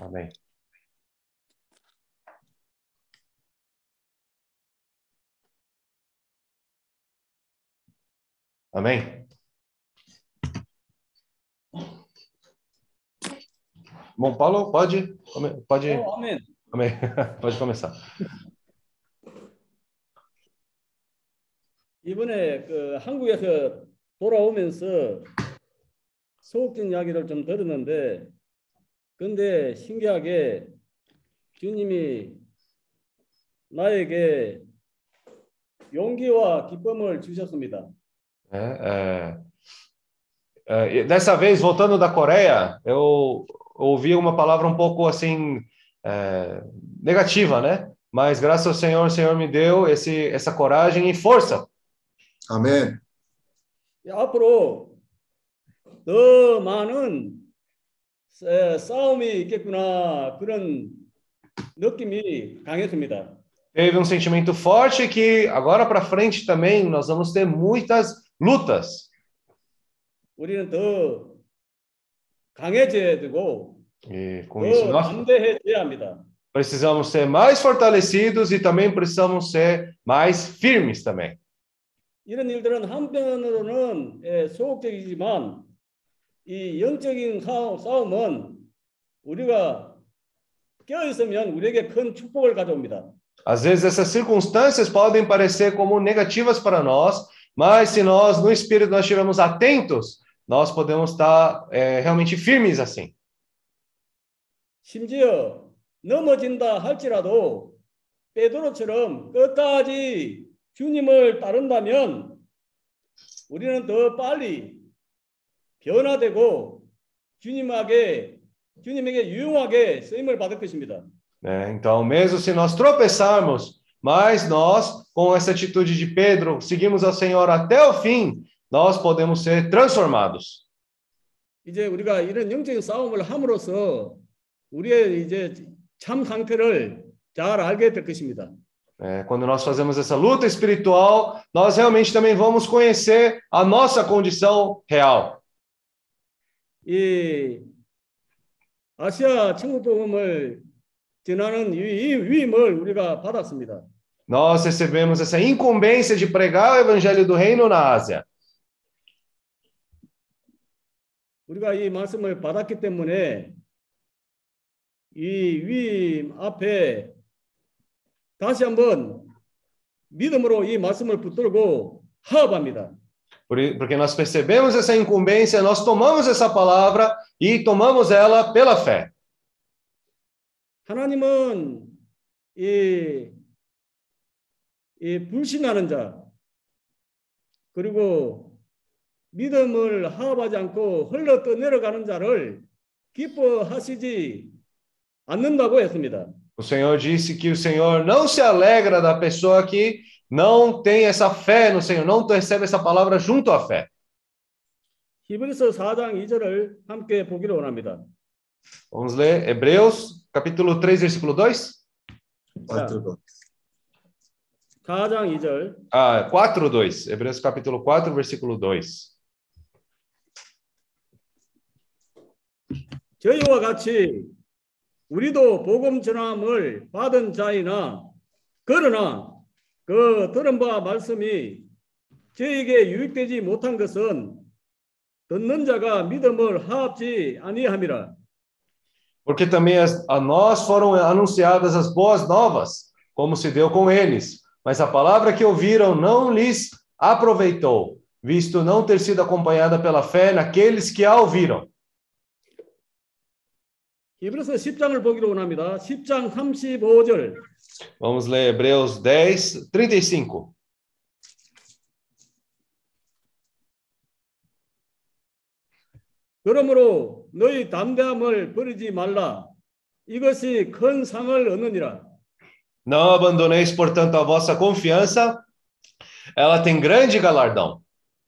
Amém. Amém. Bom, Paulo, pode. 아멘. Amém. Pode começar. 이번에 한국에서 돌아오면서 소극적 이야기를 좀 들었는데, 근데 신기하게 주님이 나에게 용기와 기쁨을 주셨습니다. Dessa vez, voltando da Coreia, eu ouvi uma palavra um pouco assim, negativa, né? Mas graças ao Senhor, o Senhor me deu essa coragem e força. 아멘. 앞으로 더 많은 싸움이 있겠구나, 그런 느낌이 강했습니다. Teve um sentimento forte que agora para frente também nós vamos ter muitas lutas. 우리는 더 강해져야 되고 E com isso 더 nós 담대해져야 합니다. precisamos ser mais fortalecidos e também precisamos ser mais firmes também. 이런 일들은 한편으로는 소극적이지만 이 영적인 싸움은 우리가 껴있으면 우리에게 큰 축복을 가져옵니다. Às vezes essas circunstâncias podem parecer como negativas para nós, mas se nós no espírito nós estivermos atentos, nós podemos estar realmente firmes assim. 심지어 넘어진다 할지라도 베드로처럼 끝까지 주님을 따른다면 우리는 더 빨리 변화되고 주님에게 유용하게 쓰임을 받을 것입니다. Então, mesmo se nós tropeçarmos, mas nós, com essa atitude de Pedro, seguimos ao Senhor até o fim, nós podemos ser transformados. 이제 우리가 이런 영적인 싸움을 함으로써 우리의 이제 참 상태를 잘 알게 될 것입니다. Quando nós fazemos essa luta espiritual, nós realmente também vamos conhecer a nossa condição real. 이 아시아 천국복음을 전하는 이 위임을 우리가 받았습니다. Nós recebemos essa incumbência de pregar o evangelho do reino na Ásia. 우리가 이 말씀을 받았기 때문에 이 위임 앞에 다시 한번 믿음으로 이 말씀을 붙들고 화합합니다. Porque nós percebemos essa incumbência, nós tomamos essa palavra e tomamos ela pela fé. 하나님은 이 불신하는 자 그리고 믿음을 화합하지 않고 흘러 떠내려가는 자를 기뻐하시지 않는다고 했습니다. O Senhor disse que o Senhor não se alegra da pessoa que não tem essa fé no Senhor, não recebe essa palavra junto à fé. 히브리서 4장 2절을 함께 보기를 원합니다. Vamos ler Hebreus, capítulo 3, versículo 2? 4장 2절. 4, 2. Hebreus, capítulo 4, versículo 2. 저희와 같이 우리도 복음 전함을 받은 자이나 그러나 그 들은 바 말씀이 저에게 유익되지 못한 것은 듣는 자가 믿음을 화합지 아니함이라. Porque também a nós foram anunciadas as boas novas, como se deu com eles. Mas a palavra que ouviram não lhes aproveitou, visto não ter sido acompanhada pela fé naqueles que a ouviram. 히브리서 10장을 보기로 원합니다. 10장 35절. Vamos ler Hebreus 10, 35. 그러므로 너희 담대함을 버리지 말라. 이것이 큰 상을 얻느니라. Não abandoneis, portanto, a vossa confiança, ela tem grande galardão.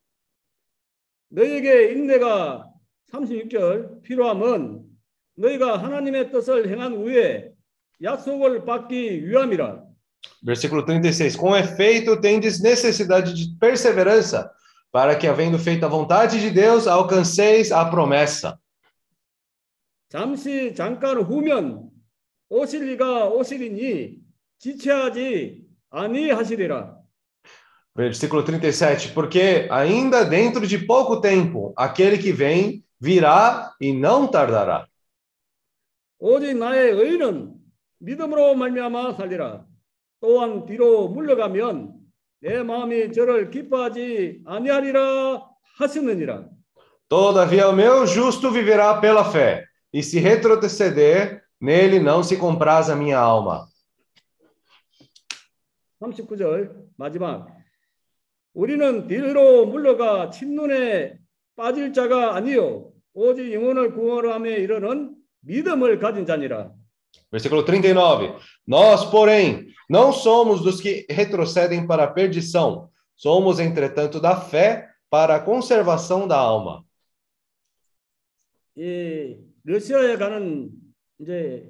너희에게 인내가 36절 필요함은 너희가 하나님의 뜻을 행한 후에 약속을 받기 위함이라. Versículo 36. Com efeito, tendes necessidade de perseverança, para que, havendo feito a vontade de Deus, alcanceis a promessa. 잠깐 후면 오실 이가 오시리니 지체하지 아니하시리라. Versículo 37, porque ainda dentro de pouco tempo, aquele que vem virá e não tardará. 오직 나의 의는 믿음으로 말미암아 살리라. 또한 뒤로 물러가면 내 마음이 저를 기뻐하지 아니하리라 하시느니라. Todavia, o meu justo viverá pela fé, e se retroceder, nele não se compraz a minha alma. 39절 마지막. 우리는 뒤로 물러가 침눈에 빠질 자가 아니요 오직 영혼을 구원함에 이르는 믿음을 가진 자니라. Versículo 39. Nós, porém, não somos dos que retrocedem para a perdição, somos, entretanto, da fé para a conservação da alma. 이 러시아에 가는 이제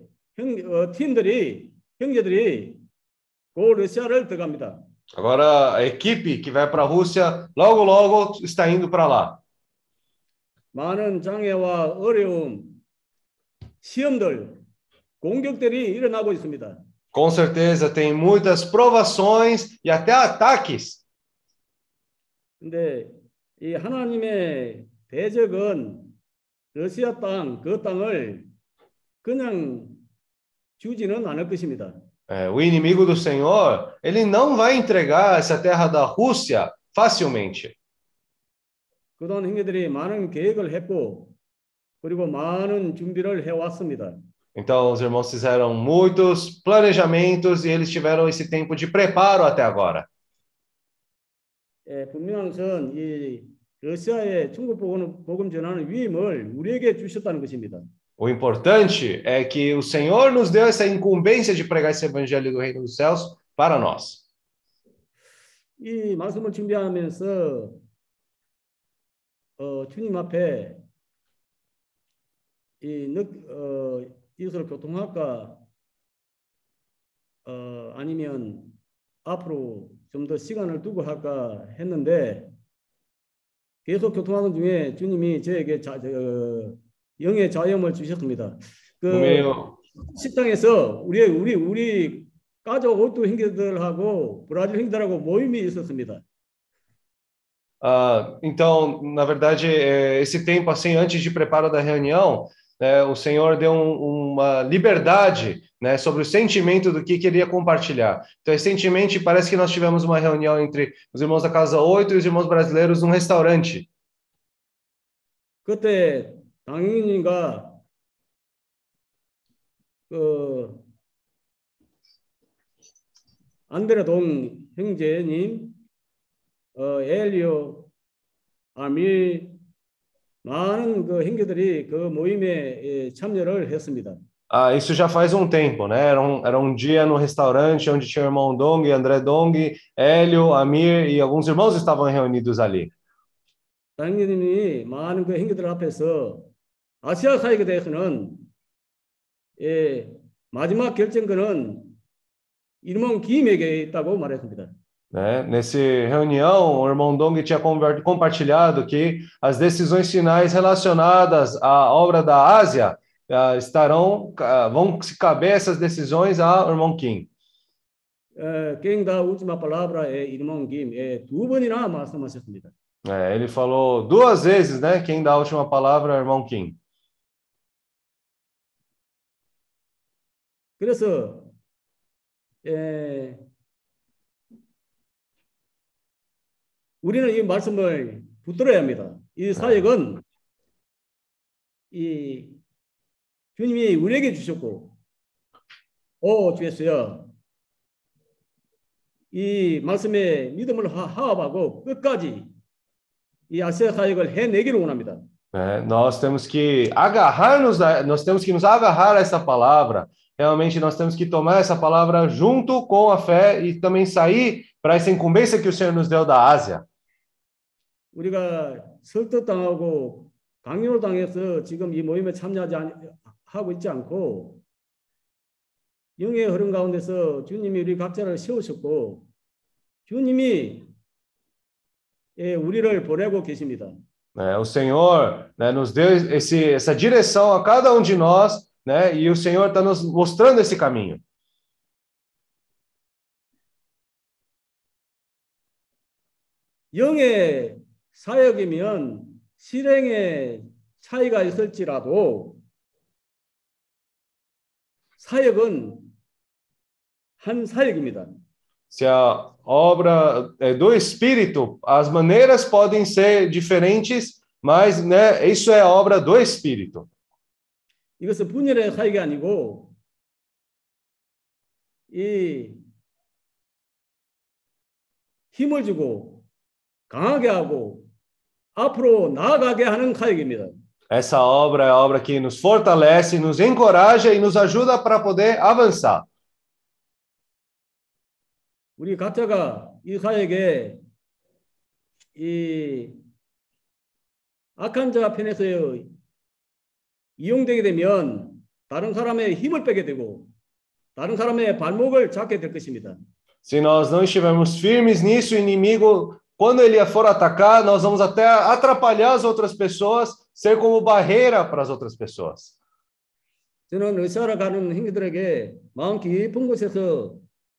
형제들이 그 러시아를 들어갑니다. Agora, a equipe que vai para a Rússia, logo, logo está indo para lá. 많은 장애와 어려움, 시험들, 공격들이 일어나고 있습니다. Com certeza, tem muitas provações e até ataques. 근데 이 하나님의 대적은 러시아 땅, 그 땅을 그냥 주지는 않을 것입니다. O inimigo do Senhor, ele não vai entregar essa terra da Rússia facilmente. 그동안 형제들이 많은 계획을 했고 그리고 많은 준비를 해왔습니다. Então, os irmãos fizeram muitos planejamentos e eles tiveram esse tempo de preparo até agora. 분명한 것은 이 러시아의 천국 복음 전하는 위임을 우리에게 주셨다는 것입니다. O importante é que o Senhor nos deu essa incumbência de pregar esse evangelho do reino dos céus para nós. 이 말씀을 준비하면서 주님 앞에 이것을 교통할까 아니면 앞으로 좀 더 시간을 두고 할까 했는데 계속 교통하는 중에 주님이 저에게 영의 자염을 주셨습니다. 식당에서 우리 가족 오토 형제들하고 브라질 형제들하고 모임이 있었습니다. Então, na verdade, esse tempo assim antes de preparo da reunião, o Senhor deu uma liberdade, né, sobre o sentimento do que queria compartilhar. Então, recentemente, parece que nós tivemos uma reunião entre os irmãos da Casa 8 e os irmãos brasileiros num restaurante. 그때 당인님과 안드레 동 형제님, 엘리오, 아밀, 많은 그 형제들이 그 모임에 참여를 했습니다. Isso já faz um tempo, né? Era um dia no restaurante onde tinha o irmão Dong, André Dong, Hélio, Amir e alguns irmãos estavam reunidos ali. 당인님이 많은 그 형제들 앞에서 아시아 사역에 대해서는 마지막 결정권은 irmão 김에게 있다고 말했습니다. Nessa reunião, o irmão Dong tinha compartilhado que as decisões finais relacionadas à obra da Ásia vão se caber essas decisões ao irmão Kim. Quem dá a última palavra é irmão Kim. 두 번이나 말씀하셨습니다. Ele falou 2 vezes, né? Quem dá a última palavra é o irmão Kim. 그래서 우리는 이 말씀을 붙들어야 합니다. 이 사역은 이 주님이 우리에게 주셨고, 주였어요. 이 말씀에 믿음을 화합하고 끝까지 이 아시아 사역을 해내기를 원합니다. Nós temos que nos agarrar a essa palavra. Realmente nós temos que tomar essa palavra junto com a fé e também sair para essa incumbência que o Senhor nos deu da Ásia. 우리가 설득당하고 강요를 당해서 지금 이 모임에 참여하고 있지 않고 영의 흐름 가운데서 주님이 우리 각자를 세우셨고 주님이 우리를 보내고 계십니다. né? O Senhor, né, nos deu essa direção a cada um de nós, né? E o Senhor está nos mostrando esse caminho. 영의 사역이면 실행의 차이가 있을지라도 사역은 한 사역입니다. Se a obra é do Espírito, as maneiras podem ser diferentes, mas, né, isso é a obra do Espírito. 이것은 분열의 사역이 아니고 이 힘을 주고 강하게 하고 앞으로 나아가게 하는 사역입니다. Essa obra é a obra que nos fortalece, nos encoraja e nos ajuda para poder avançar. 우리 각자가 이 사역에 이 악한 자 편에서 이용되게 되면 다른 사람의 힘을 빼게 되고 다른 사람의 발목을 잡게 될 것입니다. Se nós não estivermos firmes nisso, o inimigo, quando ele for atacar, nós vamos até atrapalhar as outras pessoas, ser como barreira para as outras pessoas. 저는 러시아로 가는 형제들에게 마음 깊은 곳에서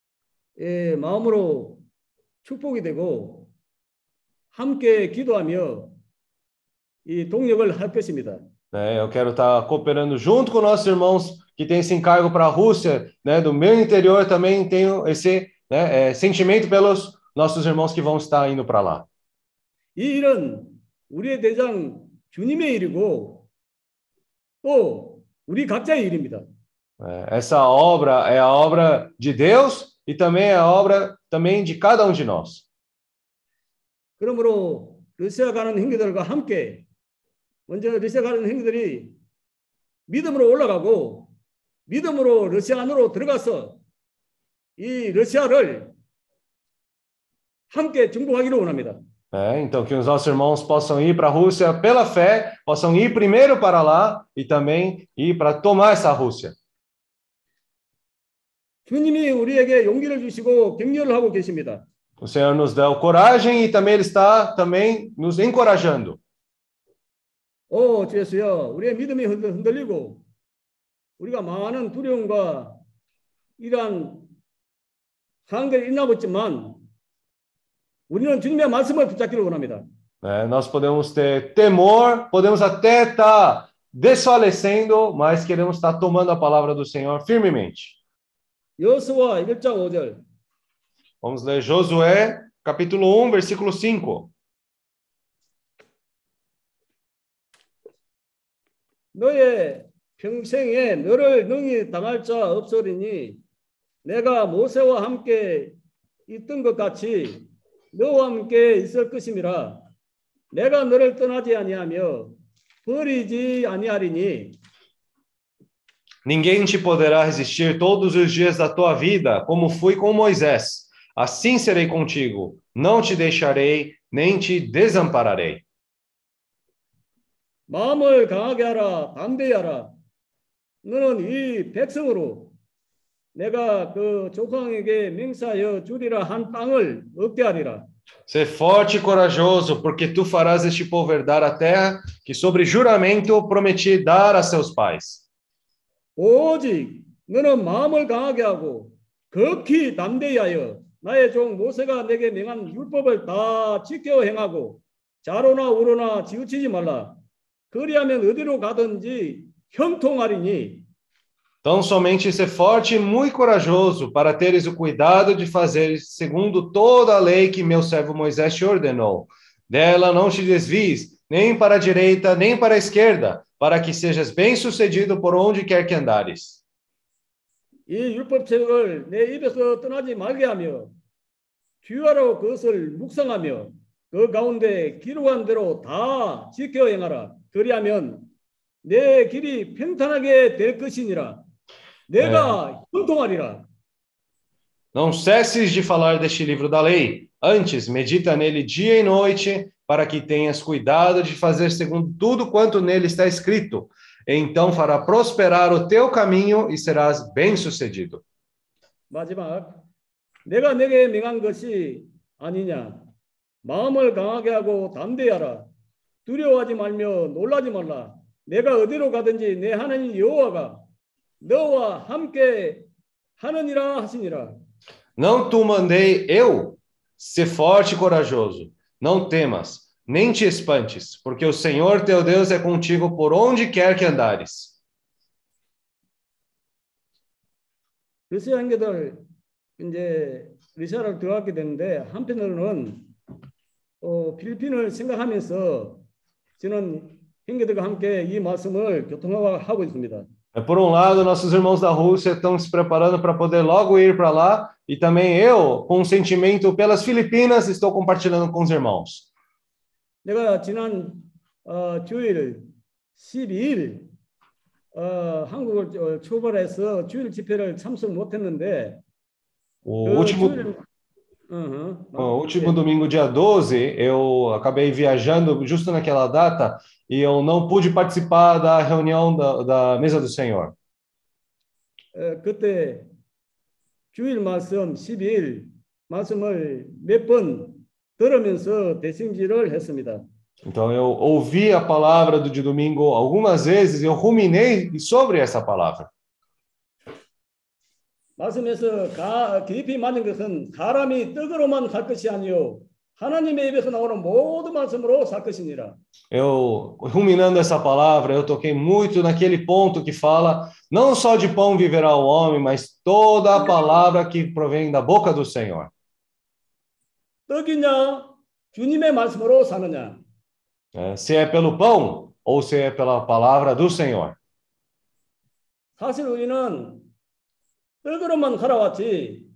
마음으로 축복이 되고 함께 기도하며 이 동력을 할 것입니다. Né, eu quero estar cooperando junto com nossos irmãos que têm esse encargo para a Rússia, né? Do meu interior também tenho esse, né, sentimento pelos nossos irmãos que vão estar indo para lá. 이 일은 우리의 대장 주님의 일이고 또 우리 각자의 일입니다. Essa obra é a obra de Deus e também é a obra também de cada um de nós. 그러므로 러시아 가는 형제들과 함께 먼저 러시아 가는 형제들이 믿음으로 올라가고 믿음으로 러시아 안으로 들어가서 이 러시아를 함께 정복하기를 원합니다. Então, que os nossos irmãos possam ir para a Rússia pela fé, possam ir primeiro para lá e também ir para tomar essa Rússia. 주님이 우리에게 용기를 주시고 격려를 하고 계십니다. O Senhor nos dá coragem e também Ele está também nos encorajando. 주 예수여, 우리의 믿음이 흔들리고 우리가 많은 두려움과 이러한 상황들이 있나 보지만 우리는 주님의 말씀을 붙잡기를 원합니다. Nós podemos ter temor, podemos até estar desfalecendo, mas queremos estar tomando a palavra do Senhor firmemente. 여호수아 1장 5절. Vamos ler Josué, capítulo 1, versículo 5. 너의 평생에 너를 능히 당할 자 없으리니 내가 모세와 함께 있던 것 같이 너와 함께 있을 것임이라. 내가 너를 떠나지 아니하며 버리지 아니하리니. Ninguém te poderá resistir todos os dias da tua vida, como fui com Moisés. Assim serei contigo, não te deixarei, nem te desampararei. 마음을 강하게 하라, 담대히 하라. 너는 이 백성으로 내가 그 족왕에게 맹세하여 주리라 한 땅을 얻게 하리라. Ser forte e corajoso, porque tu farás este povo herdar a terra que sobre juramento prometi dar a seus pais. 오직 너는 마음을 강하게 하고 극히 담대히 하여 나의 종 모세가 내게 명한 율법을 다 지켜 행하고 좌로나 우로나 치우치지 말라. 그리하면 어디로 가든지 형통하리니. Então somente ser forte e muito corajoso para teres o cuidado de fazer segundo toda a lei que meu servo Moisés te ordenou. Dela não te desvies, nem para a direita, nem para a esquerda, para que sejas bem-sucedido por onde quer que andares. 이 율법책을 내 입에서 떠나지 말게 하며 주야로 그것을 묵상하며 그 가운데 기록한 대로 다 지켜 행하라. 그리하면 내 길이 평탄하게 될 것이니라. 내가 형통하리라. Não cesses de falar deste livro da lei. Antes, medita nele dia e noite, para que tenhas cuidado de fazer segundo tudo quanto nele está escrito. Então fará prosperar o teu caminho e serás bem-sucedido. 마지막, 내가 내게 명한 것이 아니냐. 마음을 강하게 하고 담대히 하라. 두려워하지 말며 놀라지 말라. 내가 어디로 가든지 내 하나님 여호와가 너와 함께 하느니라 하시니라. Não te mandei eu? Ser forte e corajoso. Não temas, nem te espantes, porque o Senhor teu Deus é contigo por onde quer que andares. 러시아 형제들 이제 러시아를 들어가게 되는데 한편으로는 필리핀을 생각하면서 저는 형제들과 함께 이 말씀을 교통하고 있습니다. Por um lado, nossos irmãos da Rússia estão se preparando para poder logo ir para lá, e também eu, com um sentimento pelas Filipinas, estou compartilhando com os irmãos. 내가 지난 주일 12일 한국을 출발해서 주일 집회를 참석 못했는데 O último domingo, dia 12, eu acabei viajando justo naquela data e eu não pude participar da reunião da mesa do Senhor. 그때 주일 말씀 12일 말씀을 몇 번 들으면서 대승질을 했습니다. Então eu ouvi a palavra de domingo algumas vezes e eu ruminei sobre essa palavra. 말씀에서 깊이 맞는 것은 사람이 떡으로만 살 것이 아니요 하나님의 입에서 나오는 모든 말씀으로 살 것이니라. Eu, ruminando essa palavra, eu toquei muito naquele ponto que fala, não só de pão viverá o homem, mas toda a palavra que provém da boca do Senhor. 떡이냐 주님의 말씀으로 사느냐. Se é pelo pão ou se é pela palavra do Senhor. 사실 우리는 떡으로만 살아왔지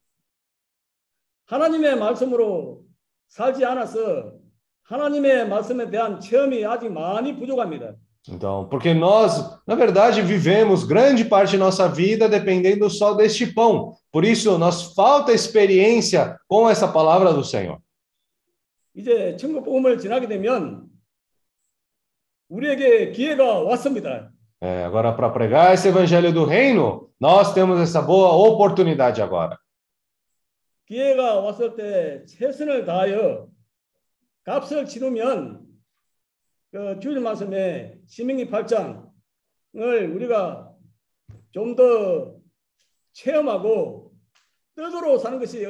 하나님의 말씀으로 살지 않아서 하나님의 말씀에 대한 체험이 아직 많이 부족합니다. Então, porque nós, na verdade, vivemos grande parte de nossa vida dependendo só deste pão. Por isso, nos falta experiência com essa palavra do Senhor. 이제 천국 복음을 지나게 되면 우리에게 기회가 왔습니다. Agora, para pregar esse evangelho do reino, nós temos essa boa oportunidade agora. 기회가 왔을 때 최선을 다하여 값을 치르면 주일 말씀에 신명기 8장을 우리가 좀 더 체험하고 뜻으로 사는 것이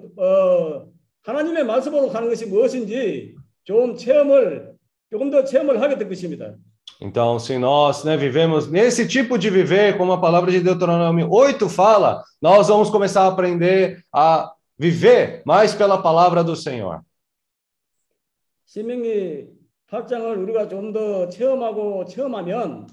하나님의 말씀으로 사는 것이 무엇인지 조금 더 체험을 하게 될 것입니다. Então, se nós vivemos nesse tipo de viver, como a palavra de Deuteronômio 8 fala, nós vamos começar a aprender a viver mais pela palavra do Senhor. 신명기 8장을 우리가 좀 더 체험하면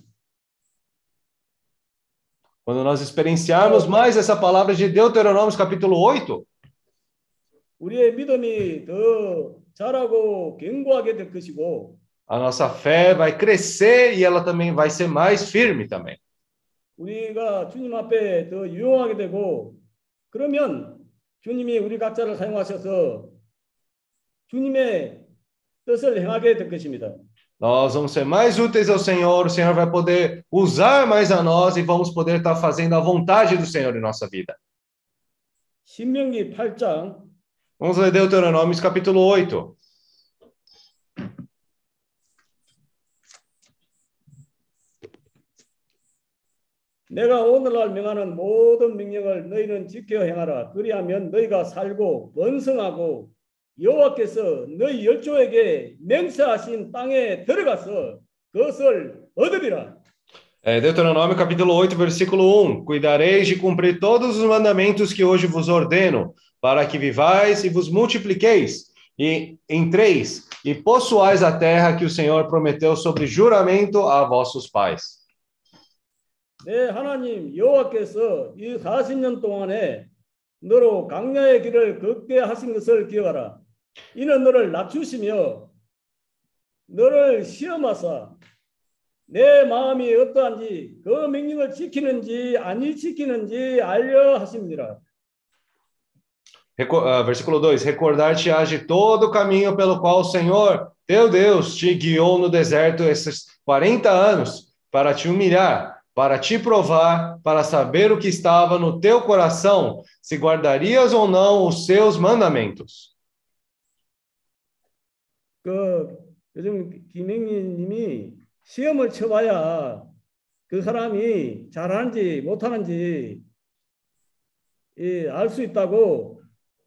quando nós experienciarmos mais essa palavra de Deuteronômio capítulo 8, 우리의 믿음이 더 자라고 견고하게 될 것이고 a nossa fé vai crescer e ela também vai ser mais firme também. 우리가 주님 앞에 더 유용하게 되고 그러면 주님이 우리 각자를 사용하셔서 주님의 뜻을 행하게 될 것입니다. Nós vamos ser mais úteis ao Senhor, o Senhor vai poder usar mais a nós e vamos poder estar fazendo a vontade do Senhor em nossa vida. 신명기 8장 Vamos ler Deuteronômio capítulo 8. 내가 오늘날 명하는 모든 명령을 너희는 지켜 행하라. 그리하면 너희가 살고 번성하고 여호와께서 너희 열조에게 맹세하신 땅에 들어가서 그것을 얻으리라. Deuteronômio capítulo 8, versículo 1. Cuidareis de cumprir todos os mandamentos que hoje vos ordeno, para que vivais e vos multipliqueis, e entreis e possuais a terra que o Senhor prometeu sobre juramento a vossos pais. 내 하나님 여호와께서 이 40년 동안에 너로 광야의 길을 걷게 하신 것을 기억하라. 이는 너를 낮추시며 너를 시험하사 내 마음이 어떠한지 그 명령을 지키는지 아니 지키는지 알려 하십니다. Versículo 2. Recordar-te-ás de todo o caminho pelo qual o Senhor, teu Deus, te guiou no deserto esses 40 anos, para te humilhar, para te provar, para saber o que estava no teu coração, se guardarias ou não os seus mandamentos. 요즘 김행민님이 시험을 쳐봐야 그 사람이 잘하는지 못하는지 알 수 있다고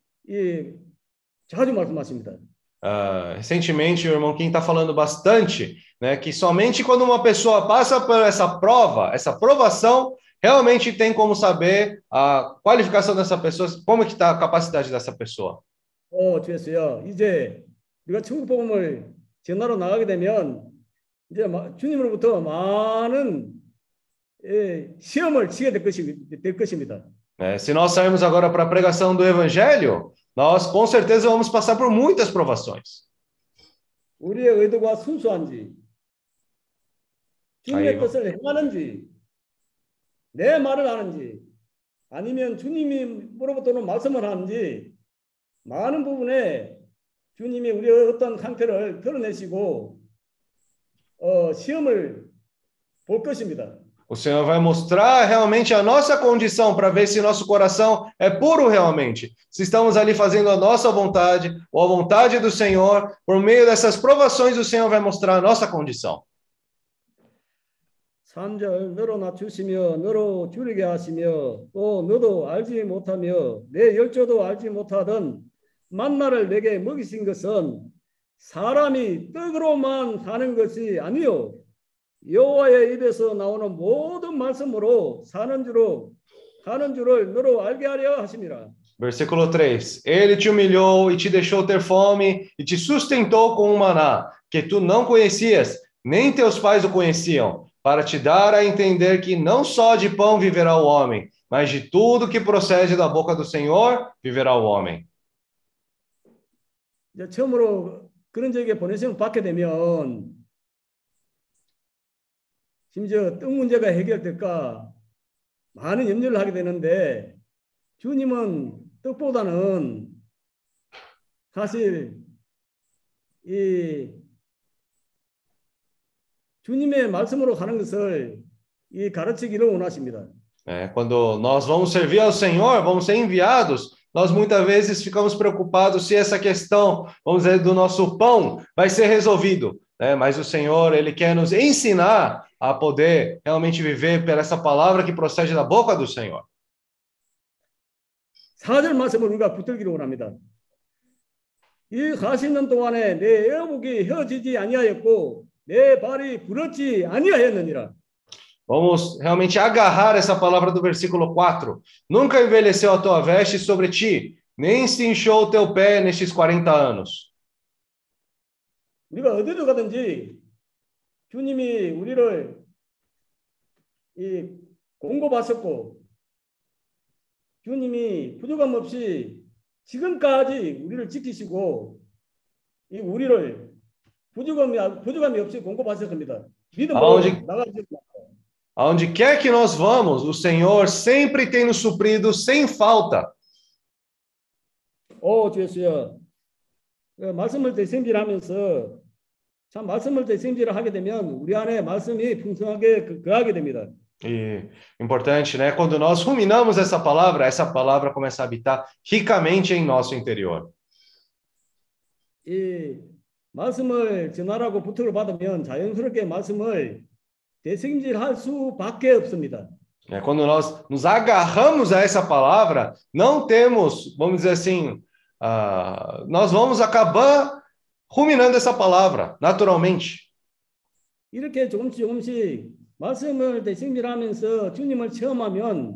자주 말씀하십니다. Recentemente, o irmão Kim está falando bastante, né, que somente quando uma pessoa passa por essa prova, essa provação, realmente tem como saber a qualificação dessa pessoa, como que está a capacidade dessa pessoa. 주였어요. 이제 우리가 천국 복음을 전하러 나가게 되면 이제 주님으로부터 많은 시험을 치게 될 것입니다. Se nós sairmos agora para a pregação do Evangelho, nós com certeza vamos passar por muitas provações. 우리의 의도가 순수한지, 주님의 뜻을 행하는지, 내 말을 하는지, 아니면 주님으로부터는 말씀을 하는지, 많은 부분에 주님이 우리의 어떤 상태를 드러내시고 시험을 볼 것입니다. O Senhor vai mostrar realmente a nossa condição para ver se nosso coração é puro realmente. Se estamos ali fazendo a nossa vontade ou a vontade do Senhor, por meio dessas provações o Senhor vai mostrar a nossa condição. 3절 너로 낮추시며 너로 줄이게 하시며 또 너도 알지 못하며 내 열조도 알지 못하던 만나를 내게 먹이신 것은 사람이 떡으로만 사는 것이 아니요 여호와의 입에서 나오는 모든 말씀으로 사는 줄을 너로 알게 하려 하심이라. Versículo 3. Ele te humilhou e te deixou ter fome e te sustentou com um maná que tu não conhecias, nem teus pais o conheciam, para te dar a entender que não só de pão viverá o homem, mas de tudo que procede da boca do Senhor viverá o homem. 이제 처음으로 그런 적에 보내시면 받게 되면 심지어 떡 문제가 해결될까 많은 염려를 하게 되는데 주님은 떡보다는 사실 이 주님의 말씀으로 가는 것을 가르치기를 원하십니다. Quando nós vamos servir ao Senhor, vamos ser enviados, nós muitas vezes ficamos preocupados se essa questão, vamos dizer, do nosso pão vai ser resolvido, né? Mas o Senhor, Ele quer nos ensinar a poder realmente viver por essa palavra que procede da boca do Senhor. 4절 말씀을 우리가 붙들기를 원합니다. 이 40년 동안에 내 애복이 헤어지지 아니하였고 내 발이 부럽지 아니하였느니라. Vamos realmente agarrar essa palavra do versículo 4. Nunca envelheceu a tua veste sobre ti, nem se inchou o teu pé nestes 40 anos. 우리가 어디로 가든지 주님이 우리를 공급하셨고 주님이 부족함 없이 지금까지 우리를 지키시고 우리를 부족함이 없이 공급하실 겁니다. 믿음으로 나가주실 겁니다. Aonde quer que nós vamos, o Senhor sempre tem nos suprido sem falta. 주였어요. 말씀을 대생질하면서 참 말씀을 대생질을 하게 되면 우리 안에 말씀이 풍성하게 거하게 됩니다. E importante, né? Quando nós ruminamos essa palavra começa a habitar ricamente em nosso interior. 이 말씀을 전하라고 부탁을 받으면 자연스럽게 말씀을 대생질할 수밖에 없습니다. Quando nós nos agarramos a essa palavra, não temos, vamos dizer assim, nós vamos acabar ruminando essa palavra, naturalmente. 이렇게 조금씩 말씀을 대생질하면서 주님을 체험하면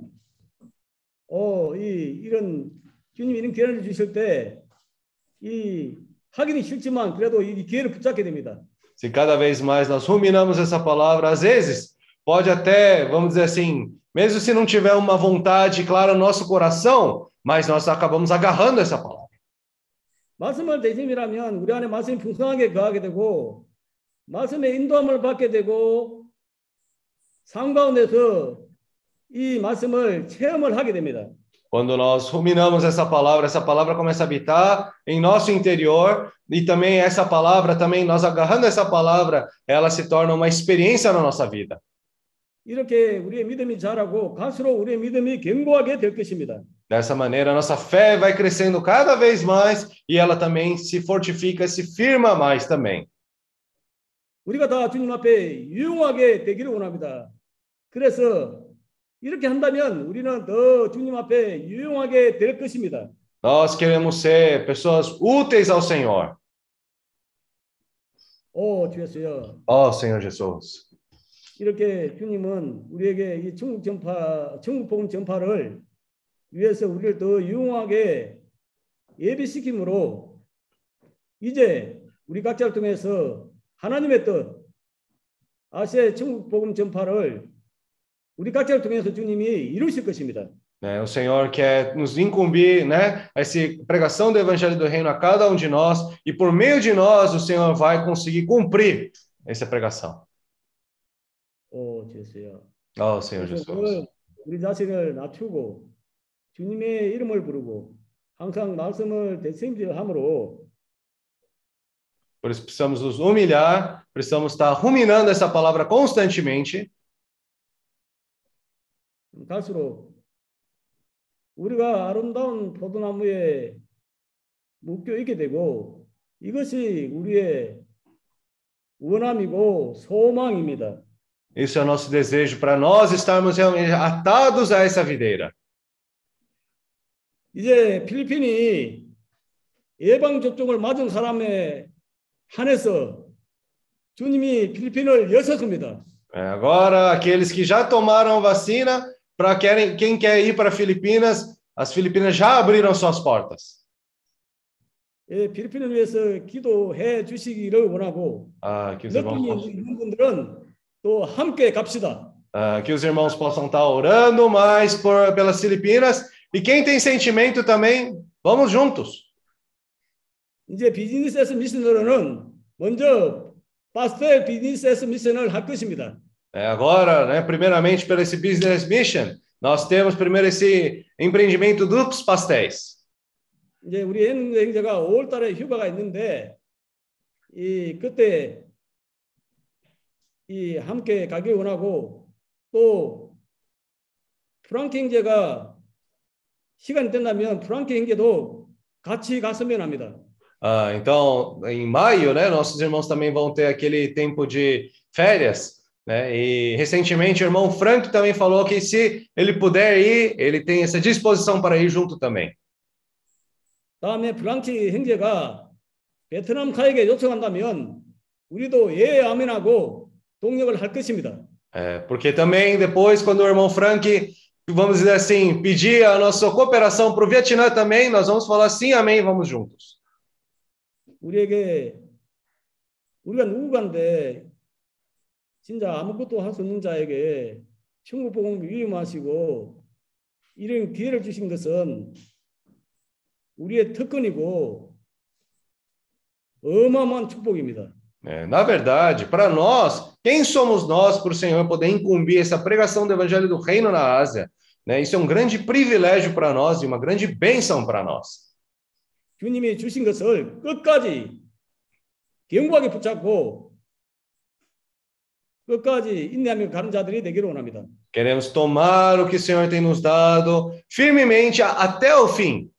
이런 주님이 이런 기회를 주실 때 하기는 싫지만 그래도 이 기회를 붙잡게 됩니다. Se cada vez mais nós ruminamos essa palavra, às vezes pode até, vamos dizer assim, mesmo se não tiver uma vontade clara no nosso coração, mas nós acabamos agarrando essa palavra. 말씀을 대심이라면 우리 안에 말씀이 풍성하게 거하게 되고 말씀의 인도함을 받게 되고 삶 가운데서 이 말씀을 체험을 하게 됩니다. Quando nós ruminamos essa palavra começa a habitar em nosso interior e também essa palavra, também nós agarrando essa palavra, ela se torna uma experiência na nossa vida. 이렇게 우리의 믿음이 자라고 갈수록 우리의 믿음이 견고하게 될 것입니다. Dessa maneira, a nossa fé vai crescendo cada vez mais e ela também se fortifica, se firma mais também. 우리가 다 주님 앞에 유용하게 되기를 원합니다. 그래서 이렇게 한다면 우리는 더 주님 앞에 유용하게 될 것입니다. Nós queremos ser pessoas úteis ao Senhor. 오, 주였어요. Ó Senhor Jesus. 이렇게 주님은 우리에게 이 천국 복음 전파를 위해서 우리를 더 유용하게 예비시킴으로 이제 우리 각자를 통해서 하나님의 뜻, 아시아의 천국 복음 전파를 우리 각자를 통해서 주님이 이루실 것입니다. Né, o Senhor quer nos incumbir, né, essa pregação do Evangelho do Reino a cada um de nós, e por meio de nós o Senhor vai conseguir cumprir essa pregação. 오, 주였어요. Ó Senhor 그래서 Jesus. 우리 자신을 낮추고 주님의 이름을 부르고 항상 말씀을 되새김질함으로 Por isso precisamos nos humilhar, precisamos estar ruminando essa palavra constantemente. 갈수록 우리가 아름다운 포도나무에 묶여 있게 되고 이것이 우리의 원함이고 소망입니다. Isso é o nosso desejo para nós estarmos realmente atados a essa videira. 이제 필리핀이 예방 접종을 맞은 사람에 한해서 주님이 필리핀을 여셨습니다. Agora, aqueles que já tomaram vacina, para quem quer ir para Filipinas, as Filipinas já abriram suas portas. 예, 필리핀을 위해서 기도해 주시기를 원하고 Que os irmãos 느낌이 있는 분들은 또 함께 갑시다. que os irmãos possam estar orando mais pelas Filipinas. E quem tem sentimento também, vamos juntos. 이제 비즈니스 에스 미션으로는 먼저 파스텔 비즈니스 에스 미션을 할 것입니다. Agora, né, primeiramente, pelo esse business mission, nós temos primeiro esse empreendimento dos pastéis. 이제 우리 행자가 5월달에 휴가가 있는데 그때 함께 가길 원하고 또 프랑키 형제가 시간이 된다면 프랑키 형제도 같이 갔으면 합니다. Então, em maio, né, nossos irmãos também vão ter aquele tempo de férias, né? E recentemente o irmão Frank também falou que se ele puder ir, ele tem essa disposição para ir junto também. 다음에 프랑키 형제가 베트남 가에게 요청한다면 우리도 예 아멘하고 동력을 할 것입니다. Porque também depois, quando o irmão Frank, vamos dizer assim, pedir a nossa cooperação para o Vietnã também, nós vamos falar sim, amém, vamos juntos. 우리가 누구간데 진짜 아무것도 할 수 없는 자에게 천국 복음을 위임하시고 이런 기회를 주신 것은 우리의 특권이고 어마어마한 축복입니다. Na verdade, para nós, quem somos nós para o Senhor poder incumbir essa pregação do Evangelho do Reino na Ásia? Né? Isso é um grande privilégio para nós e uma grande bênção para nós. 주님이 주신 것을 끝까지 견고하게 붙잡고 끝까지 인내하며 가는 자들이 되기를 원합니다. Queremos tomar o que o Senhor tem nos dado firmemente até o fim.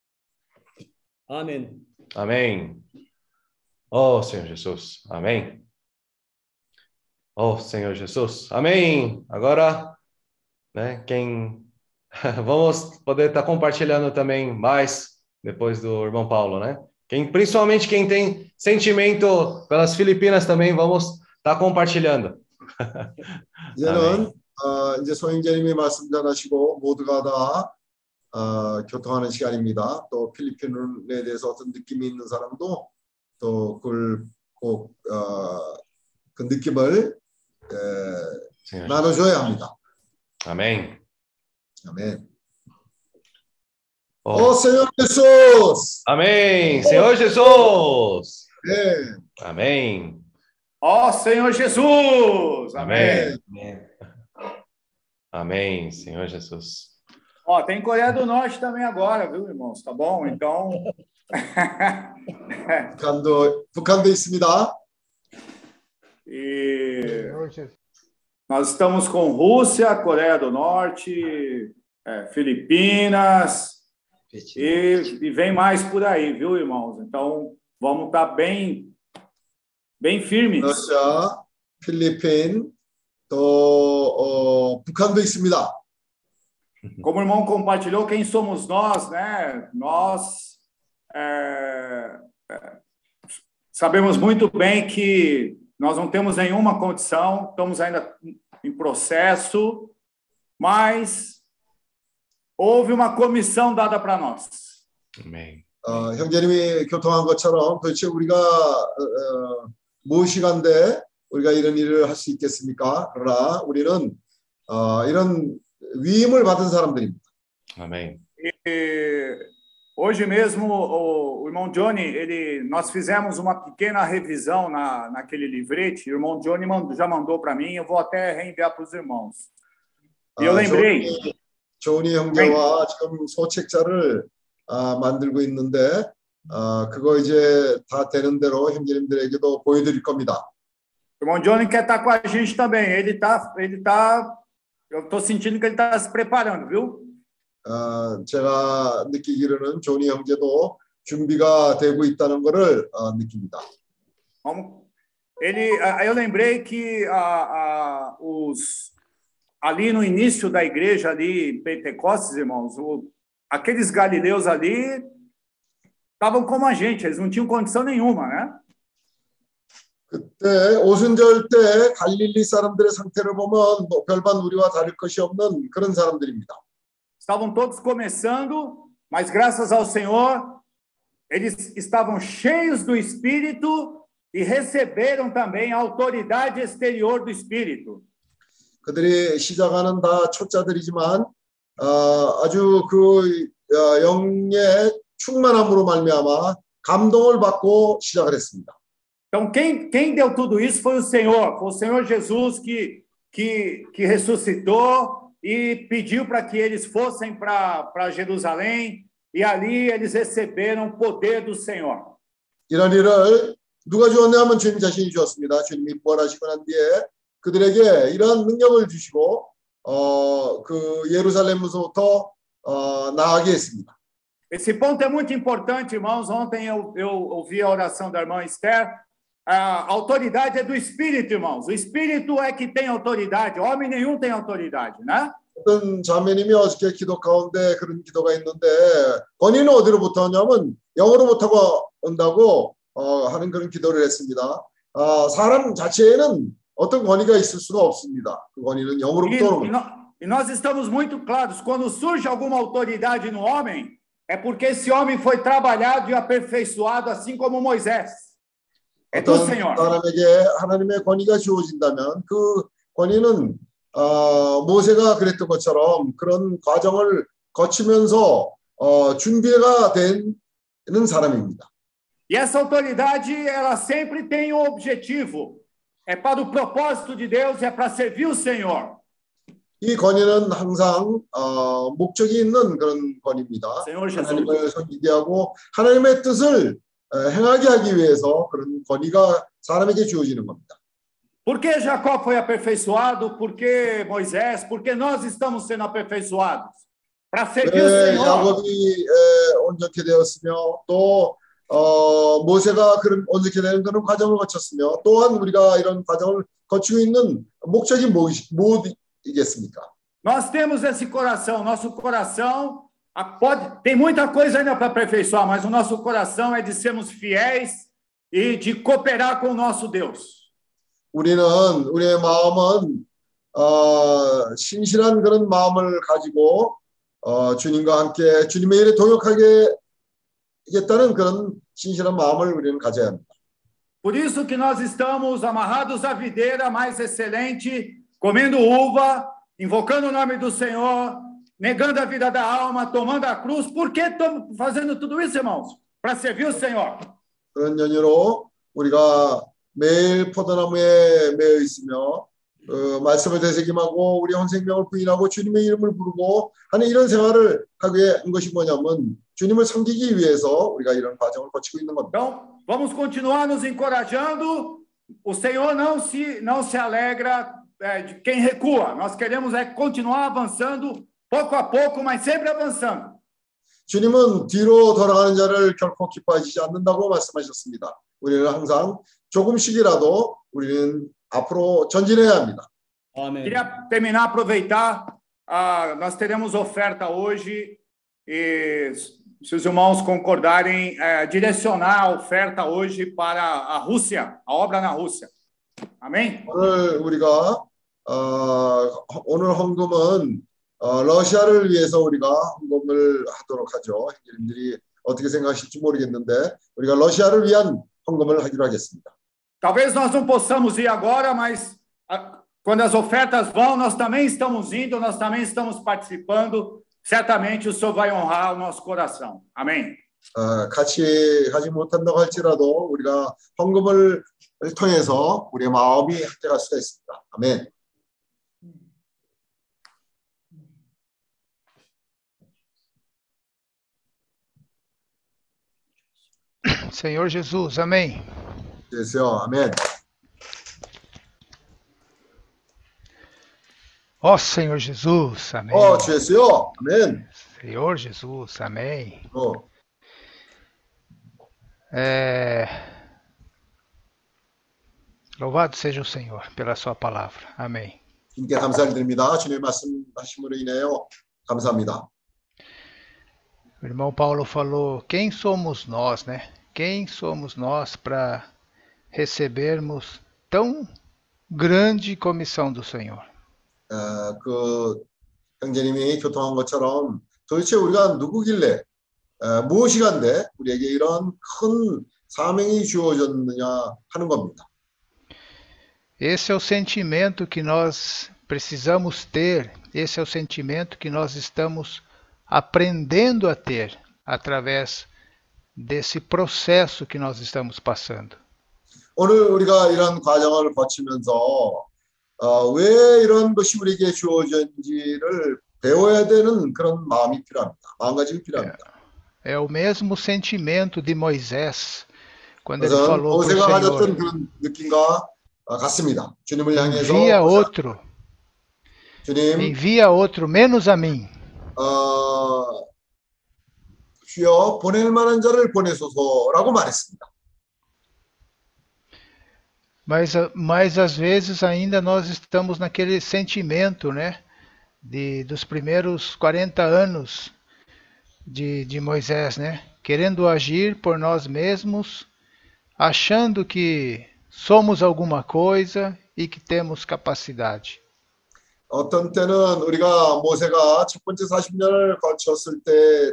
아멘. Amém. Oh, Senhor Jesus. Amém. Oh, Senhor Jesus. Amém. Agora, né, vamos poder estar compartilhando também mais depois do irmão Paulo, né? Principalmente quem tem sentimento pelas Filipinas também, vamos estar compartilhando. 이제는 이제 소영재님이 말씀 잘하시고 모두가 다 교통하는 시간입니다. 또 필리핀에 대해서 어떤 느낌이 있는 사람도 또 그걸 꼭 그 느낌을 나눠줘야 합니다. Amém. 아멘. Oh, Senhor Jesus. Amém. Senhor Jesus. 네. Amém. Ó Senhor Jesus. Amém. Amém. Amém, Senhor Jesus. Ó, tem Coreia do Norte também agora, viu, irmãos? Tá bom? Então. 북한도 있습니다. E nós estamos com Rússia, Coreia do Norte, Filipinas e vem mais por aí, viu, irmãos? Então vamos estar bem bem firmes. 러시아, 필리핀, 또 북한도 있습니다. Como o irmão compartilhou, quem somos nós, né? Nós sabemos muito bem que nós não temos nenhuma condição, estamos ainda em processo, mas houve uma comissão dada para nós. Amém. 형제님이 교통한 것처럼 도대체 우리가 무엇이간데 우리가 이런 일을 할 수 있겠습니까? 그러나 우리는 이런 위임을 받은 사람들입니다. Amém. E hoje mesmo o irmão Johnny, nós fizemos uma pequena revisão naquele livrete. O irmão Johnny já mandou para mim, eu vou até reenviar para os irmãos. E eu lembrei. 조은이 형제와 지금 소책자를 만들고 있는데 그거 이제 다 되는 대로 형제님들에게도 보여드릴 겁니다. O irmão Johnny quer estar com a gente também. Eu estou sentindo que ele está se preparando, viu? 제가 느끼기로는 조니 형제도 준비가 되고 있다는 것을 느낍니다. Eu lembrei que ali no início da igreja ali em Pentecostes, irmãos, aqueles galileus ali estavam como a gente, eles não tinham condição nenhuma, né? 그때 오순절 때 갈릴리 사람들의 상태를 보면 별반 우리와 다를 것이 없는 그런 사람들입니다. Estavam todos começando, mas graças ao Senhor, eles estavam cheios do Espírito e receberam também a autoridade exterior do Espírito. 그들이 시작하는 다 초짜들이지만 아주 그 영의 충만함으로 말미암아 감동을 받고 시작을 했습니다. Então, quem deu tudo isso foi o Senhor Jesus que ressuscitou e pediu para que eles fossem para Jerusalém e ali eles receberam o poder do Senhor. 이런 일을 누가 주었냐면 주님 자신이 주었습니다. 주님이 부활하시고 난 뒤에 그들에게 이런 능력을 주시고 그 예루살렘으로부터 나가게 했습니다. Esse ponto é muito importante, irmãos. Ontem eu ouvi a oração da irmã Esther. A autoridade é do Espírito, irmãos. O Espírito é que tem autoridade. Homem nenhum tem autoridade, né? 어떤 자매님이 어저께 기도 가운데 그런 기도가 있는데 권위는 어디로부터 오냐면 영으로부터 온다고 하는 그런 기도를 했습니다. 사람 자체에는 어떤 권위가 있을 수가 없습니다. 그 권위는 영으로부터 오는 겁니다. E nós estamos muito claros. Quando surge alguma autoridade no homem, é porque esse homem foi trabalhado e aperfeiçoado assim como Moisés. 어떤 사람에게 하나님의 권위가 주어진다면 그 권위는 모세가 그랬던 것처럼 그런 과정을 거치면서 준비가 되는 사람입니다. E essa autoridade, ela sempre tem um objetivo. É para o propósito de Deus, é para servir o Senhor. 이 권위는 항상 목적이 있는 그런 권위입니다. 하나님을 섬기게 하고 하나님의 뜻을 행하게 하기 위해서 그런 권위가 사람에게 주어지는 겁니다. Por que Jacó foi aperfeiçoado? Por que Moisés? Por que nós estamos sendo aperfeiçoados? Para servir o Senhor. 야곱이 온전케 되었으며 또 모세가 그런 온전케 되는 그런 과정을 거쳤으며 또한 우리가 이런 과정을 거치고 있는 목적이 무엇이겠습니까? Nós temos esse coração. Nosso coração tem muita coisa ainda para aperfeiçoar, mas o nosso coração é de sermos fiéis e de cooperar com o nosso Deus. 우리의 마음은 신실한 그런 마음을 가지고 주님과 함께 주님의 일에 동역하게 하겠다는 그런 신실한 마음을 우리는 가져야 합니다. Por isso que nós estamos amarrados à videira mais excelente, comendo uva, invocando o nome do Senhor, negando a vida da alma, tomando a cruz. Por que estamos fazendo tudo isso, irmãos? Para servir o Senhor. 그런 연유로 우리가 매일 포도나무에 매여 있으며 말씀을 되새김하고 우리 혼 생명을 부인하고 주님의 이름을 부르고 하는 이런 생활을 하게 한 것이 뭐냐면 주님을 섬기기 위해서 우리가 이런 과정을 거치고 있는 겁니다. Então, vamos continuar nos encorajando. O Senhor não se alegra de quem recua. Nós queremos continuar avançando pouco a pouco, mas sempre avançando. 주님은 뒤로 돌아가는 자를 결코 기뻐하시지 않는다고 말씀하셨습니다. 우리는 항상 조금씩이라도 우리는 앞으로 전진해야 합니다. 아멘. Queria terminar, aproveitar, nós teremos oferta hoje e se os irmãos concordarem, direcionar a oferta hoje para a Rússia, a obra na Rússia. Amém? 오늘 우리가 오늘 헌금은 러시아를 위해서 우리가 헌금을 하도록 ha죠. 형제님들이 어떻게 생각하실지 모르겠는데 우리가 러시아를 위한 헌금을 하기로 하겠습니다. Talvez nós não possamos ir agora, mas quando as ofertas vão, nós também estamos indo, nós também estamos participando. Certamente o Senhor vai honrar o nosso coração. Amém? 같이 가지 못한다고 할지라도 우리가 헌금을 통해서 우리의 마음이 합대할 수가 있습니다. 아멘. Senhor Jesus, amém. 주여, 아멘. Ó Senhor Jesus, amém. 주여, 아멘. Senhor Jesus, amém. Louvado seja o Senhor pela sua palavra. Amém. 주님께 감사를 드립니다. 주님의 말씀하심으로 인하여 감사합니다. O irmão Paulo falou, quem somos nós, né? Quem somos nós para recebermos tão grande comissão do Senhor? 그 형제님이 교통한 것처럼 도대체 우리가 누구길래 무엇이간데 우리에게 이런 큰 사명이 주어졌느냐 하는 겁니다. Esse é o sentimento que nós precisamos ter, esse é o sentimento que nós estamos aprendendo a ter através desse processo que nós estamos passando. 오늘 우리가 이런 과정을 거치면서 왜 이런 것이 우리에게 주어졌는지를 배워야 되는 그런 마음이 필요합니다. 마음가짐이 필요합니다. É o mesmo sentimento de Moisés quando ele falou para o 모세가 가졌던 Senhor, 그런 느낌과 같습니다. 주님을 향해서 envia outro, 주님, envia outro menos a mim. 주여 보낼 만한 자를 보내소서라고 말했습니다. Mas às vezes ainda nós estamos naquele sentimento, né, dos primeiros 40 anos de Moisés, né, querendo agir por nós mesmos, achando que somos alguma coisa e que temos capacidade. 어떤 때는 우리가 모세가 첫 번째 40년을 거쳤을 때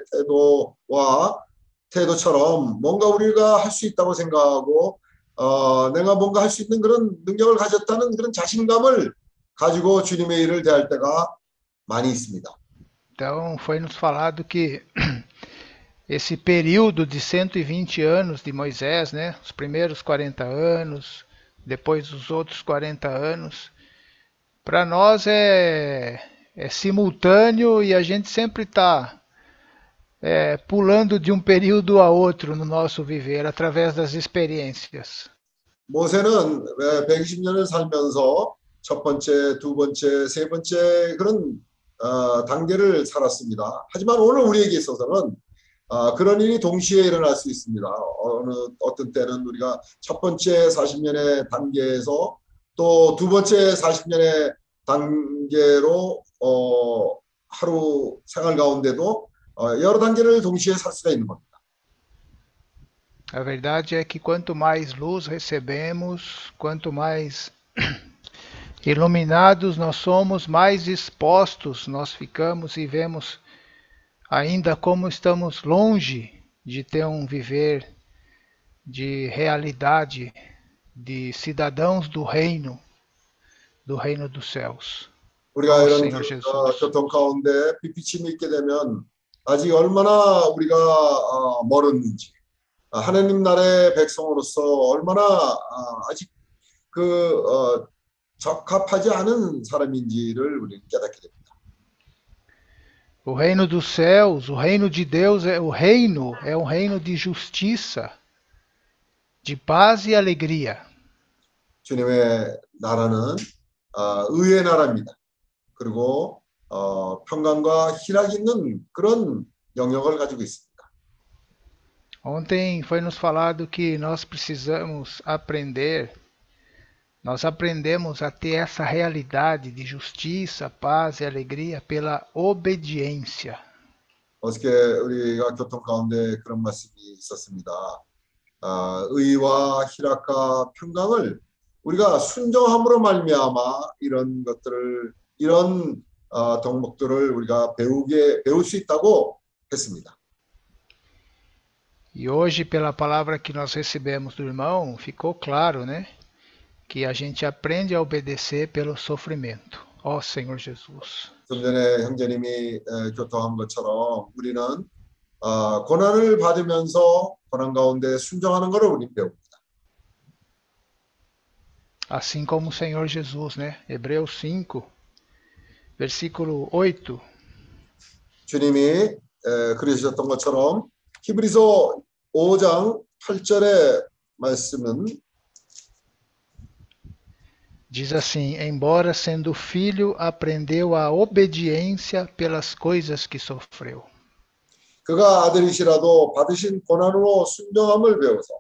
태도처럼 뭔가 우리가 할 수 있다고 생각하고 내가 뭔가 할 수 있는 그런 능력을 가졌다는 그런 자신감을 가지고 주님의 일을 대할 때가 많이 있습니다. Então foi nos falado que esse período de 120 anos de Moisés, né, os primeiros 40 anos, depois os outros 40 anos, para nós é simultâneo e a gente sempre está pulando de um período a outro no nosso viver, através das experiências. 모세는 120년을 살면서 첫 번째, 두 번째, 세 번째 그런 단계를 살았습니다. 하지만 오늘 우리에게 있어서는 그런 일이 동시에 일어날 수 있습니다. 어떤 때는 우리가 첫 번째 40년의 단계에서 또 두 번째 40년의 단계로 하루 생활 가운데도 여러 단계를 동시에 살 수가 있는 겁니다. A verdade é que quanto mais luz recebemos, quanto mais iluminados nós somos, mais expostos nós ficamos e vemos ainda como estamos longe de ter um viver de realidade, de cidadãos do reino dos céus. 우리가 이런 Senhor Jesus. 교통 가운데 비비침이 있게 되면 아직 얼마나 우리가 멀었는지, 하나님 나라의 백성으로서 얼마나 아직 적합하지 않은 사람인지를 우리는 깨닫게 됩니다. O reino dos céus, o reino de Deus é um reino de justiça, de paz e alegria. 주님의 나라는 의의 나라입니다. 그리고 평강과 희락이 있는 그런 영역을 가지고 있습니다. Ontem foi nos falado que nós precisamos aprender, nós aprendemos a ter essa realidade de justiça, paz e alegria pela obediência. 어저께 우리가 교통 가운데 그런 말씀이 있었습니다. 의와 희락과 평강을 우리가 순종함으로 말미암아 이런 것들을 이런 덕목들을 우리가 배울 수 있다고 했습니다. E hoje, pela palavra que nós recebemos do irmão, ficou claro, né? Que a gente aprende a obedecer pelo sofrimento. Ó Senhor Jesus. 좀 전에 형제님이 교통한 것처럼 우리는 고난을 받으면서 고난 가운데 순종하는 것을 우리는 배웁니다. Assim como o Senhor Jesus, né? Hebreus 5, versículo 8. 주님이 그러셨던 것처럼 히브리서 5장 8절의 말씀은 Diz assim: embora sendo filho, aprendeu a obediência pelas coisas que sofreu. 그가 아들이시라도 받으신 고난으로 순종함을 배워서.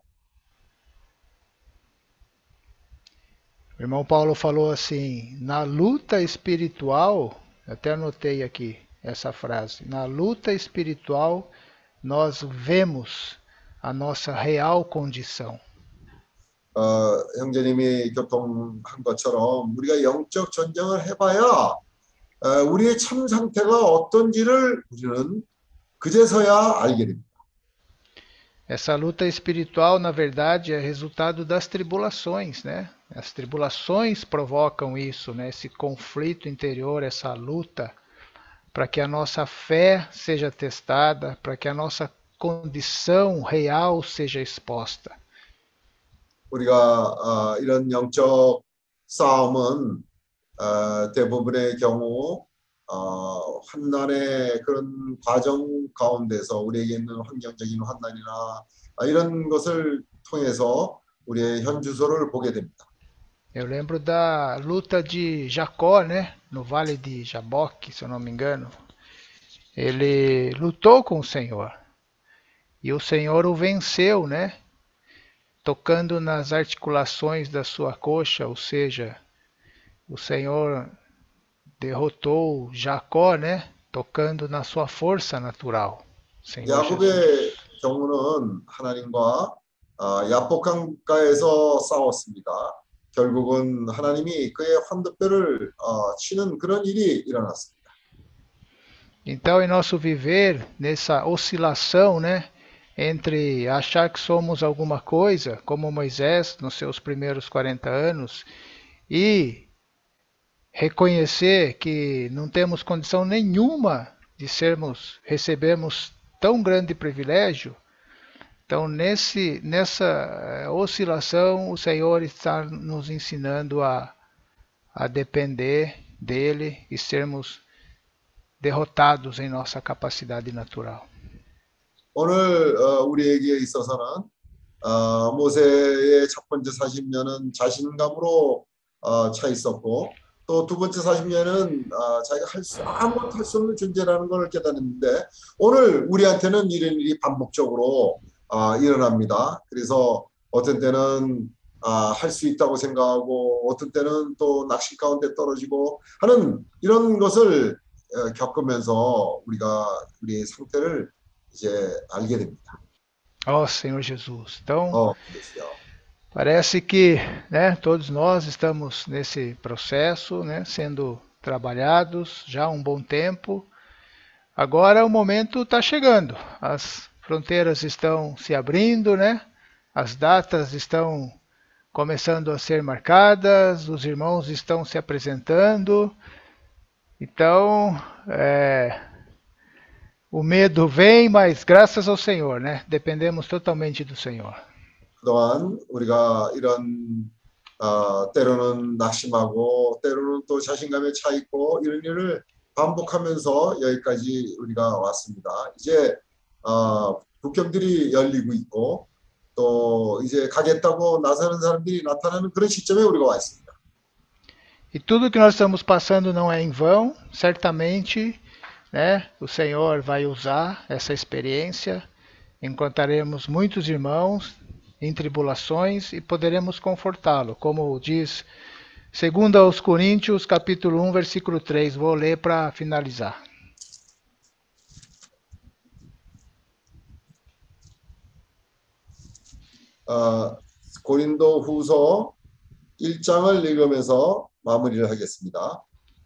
O irmão Paulo falou assim: na luta espiritual, até anotei aqui essa frase, na luta espiritual nós vemos a nossa real condição. 형제님이 교통한 것처럼 우리가 영적 전쟁을 해봐야 우리의 참 상태가 어떤지를 우리는 그제서야 알게 됩니다. Essa luta espiritual, na verdade, é resultado das tribulações, né? As tribulações provocam isso, né? Esse conflito interior, essa luta, para que a nossa fé seja testada, para que a nossa condição real seja exposta. 우리가 이런 영적 싸움은 대부분의 경우 환난의 그런 과정 가운데서 우리에게 있는 환경적인 환난이나 이런 것을 통해서 우리의 현주소를 보게 됩니다. Eu lembro da luta de Jacó, né? No Vale de Jaboque, se eu não me engano. Ele lutou com o Senhor. E o Senhor o venceu, né? Tocando nas articulações da sua coxa, ou seja, o Senhor derrotou Jacó, né? Tocando na sua força natural. Senhor 야곱의 경우는 하나님과 야복강가에서 싸웠습니다. 결국은 하나님이 그의 환도뼈를 치는 그런 일이 일어났습니다. Então, em nosso viver, nessa oscilação, né? Entre achar que somos alguma coisa, como Moisés nos seus primeiros 40 anos, e reconhecer que não temos condição nenhuma de recebermos tão grande privilégio. Então, nessa oscilação, o Senhor está nos ensinando a depender dele e sermos derrotados em nossa capacidade natural. 오늘 우리에게 있어서는 모세의 첫 번째 40년은 자신감으로 차 있었고 또 두 번째 40년은 자기가 아무것도 할 수 없는 존재라는 걸 깨닫는데 오늘 우리한테는 이런 일이 반복적으로 일어납니다. 그래서 어떤 때는 할 수 있다고 생각하고 어떤 때는 또 낙심 가운데 떨어지고 하는 이런 것을 겪으면서 우리가 우리의 상태를 이제 알게 됩니다. Ó Senhor Jesus. Então, parece que, né, todos nós estamos nesse processo, né, sendo trabalhados já há um bom tempo. Agora o momento está chegando. As fronteiras estão se abrindo, né? As datas estão começando a ser marcadas, os irmãos estão se apresentando. Então, o medo vem, mas graças ao Senhor, né? Dependemos totalmente do Senhor. 그동안 우리가 이런 때로는 낙심하고 때로는 또 자신감에 차 있고 이런 일을 반복하면서 여기까지 우리가 왔습니다. 이제 국경들이 열리고 있고 또 이제 가겠다고 나서는 사람들이 나타나는 그런 시점에 우리가 와 있습니다. E tudo que nós estamos passando não é em vão, certamente, né? O Senhor vai usar essa experiência encontraremos muitos irmãos em tribulações e poderemos confortá-lo, como diz 2 aos Coríntios, capítulo 1, versículo 3. Vou ler para finalizar. 고린도 후서 1장을 읽으면서 마무리를 하겠습니다.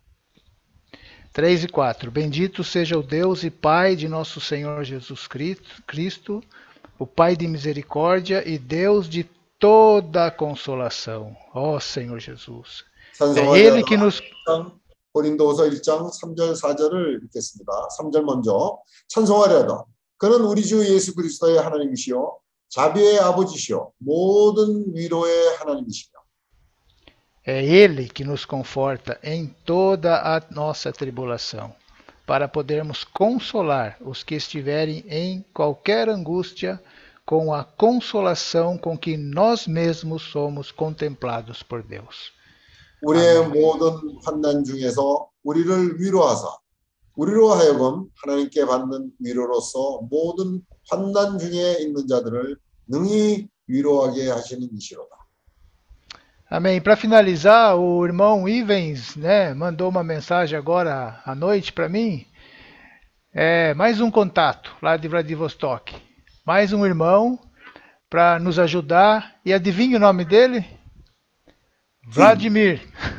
3 e 4. Bendito seja o Deus e Pai de nosso Senhor Jesus Cristo, o Pai de misericórdia e Deus de toda consolação. Ó Senhor Jesus. É Ele que nos... 고린도후서 1장 3절 4절을 읽겠습니다. 3절 먼저. 찬송하려다. 그는 우리 주 예수 그리스도의 하나님이시요 자비의 아버지시요 모든 위로의 하나님이시며. É Ele que nos conforta em toda a nossa tribulação, para podermos consolar os que estiverem em qualquer angústia, com a consolação com que nós mesmos somos contemplados por Deus. 우리의 모든 환난 중에서 우리를 위로하사 우리로 하여금 하나님께 받는 위로로서 모든 환난 중에 있는 자들을 능히 위로하게 하시는 이시로다. Amém. Para finalizar, o irmão Ivens, mandou uma mensagem agora à noite para mim. Mais um contato lá de Vladivostok. Mais um irmão para nos ajudar. E adivinha o nome dele? Vladimir.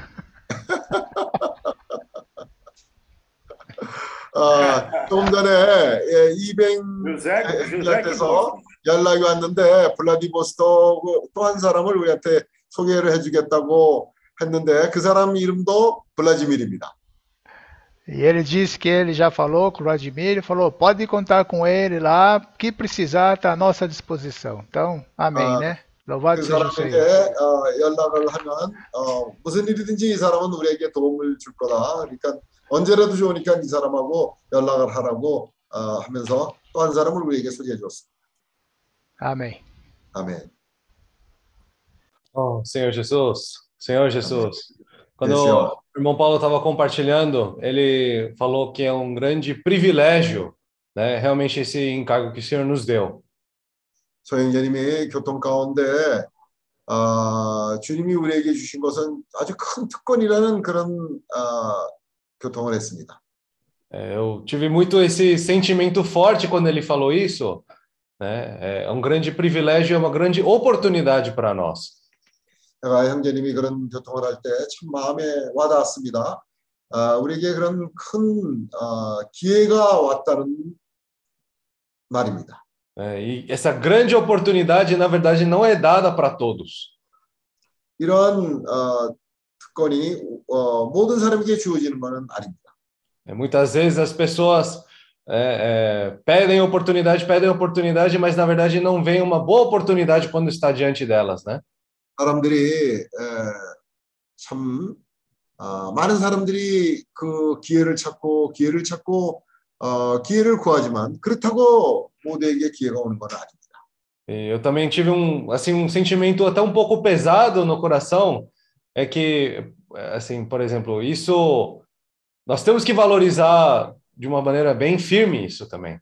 조금 전에 이뱅한테서 연락이 왔는데 블라디보스토크 또 한 사람을 우리한테 소개를 해주겠다고 했는데 그 사람 이름도 블라디미르입니다. E ele disse que ele já falou com o Vladimir, ele falou, pode contar com ele lá, que precisar está à nossa disposição. Então, amém, né? Louvado seja o Senhor. 연락을 하면 무슨 일이든지 이 사람은 우리에게 도움을 줄 거다. 그러니까 언제라도 좋으니까 이 사람하고 연락을 하라고 하면서 또 한 사람을 우리에게 소개해 줬습니다. Amém. 아멘. Oh, Senhor Jesus, Senhor Jesus. Quando Senhor. o irmão Paulo estava compartilhando, ele falou que é um grande privilégio, né? Realmente esse encargo que o Senhor nos deu. 소영재님이 교통 가운데 주님이 우리에게 주신 것은 아주 큰 특권이라는 그런 교통을 했습니다. Eu tive muito esse sentimento forte quando ele falou isso, né? É um grande privilégio, é uma grande oportunidade para nós. 제가 형제님이 그런 교통을 할 때 참 마음에 와닿았습니다. 우리에게 그런 큰 기회가 왔다는 말입니다. E essa grande oportunidade, na verdade, não é dada para todos. 이런 특권이 모든 사람에게 주어지는 것은 아닙니다. Muitas vezes as pessoas pedem oportunidade, mas na verdade não vem uma boa oportunidade quando está diante delas, né? 사람들이 참 많은 사람들이 그 기회를 찾고 기회를 구하지만 그렇다고 모두에게 기회가 오는 건 아닙니다. Eu também tive um sentimento até um pouco pesado no coração, é que, assim, por exemplo, isso nós temos que valorizar de uma maneira bem firme isso também.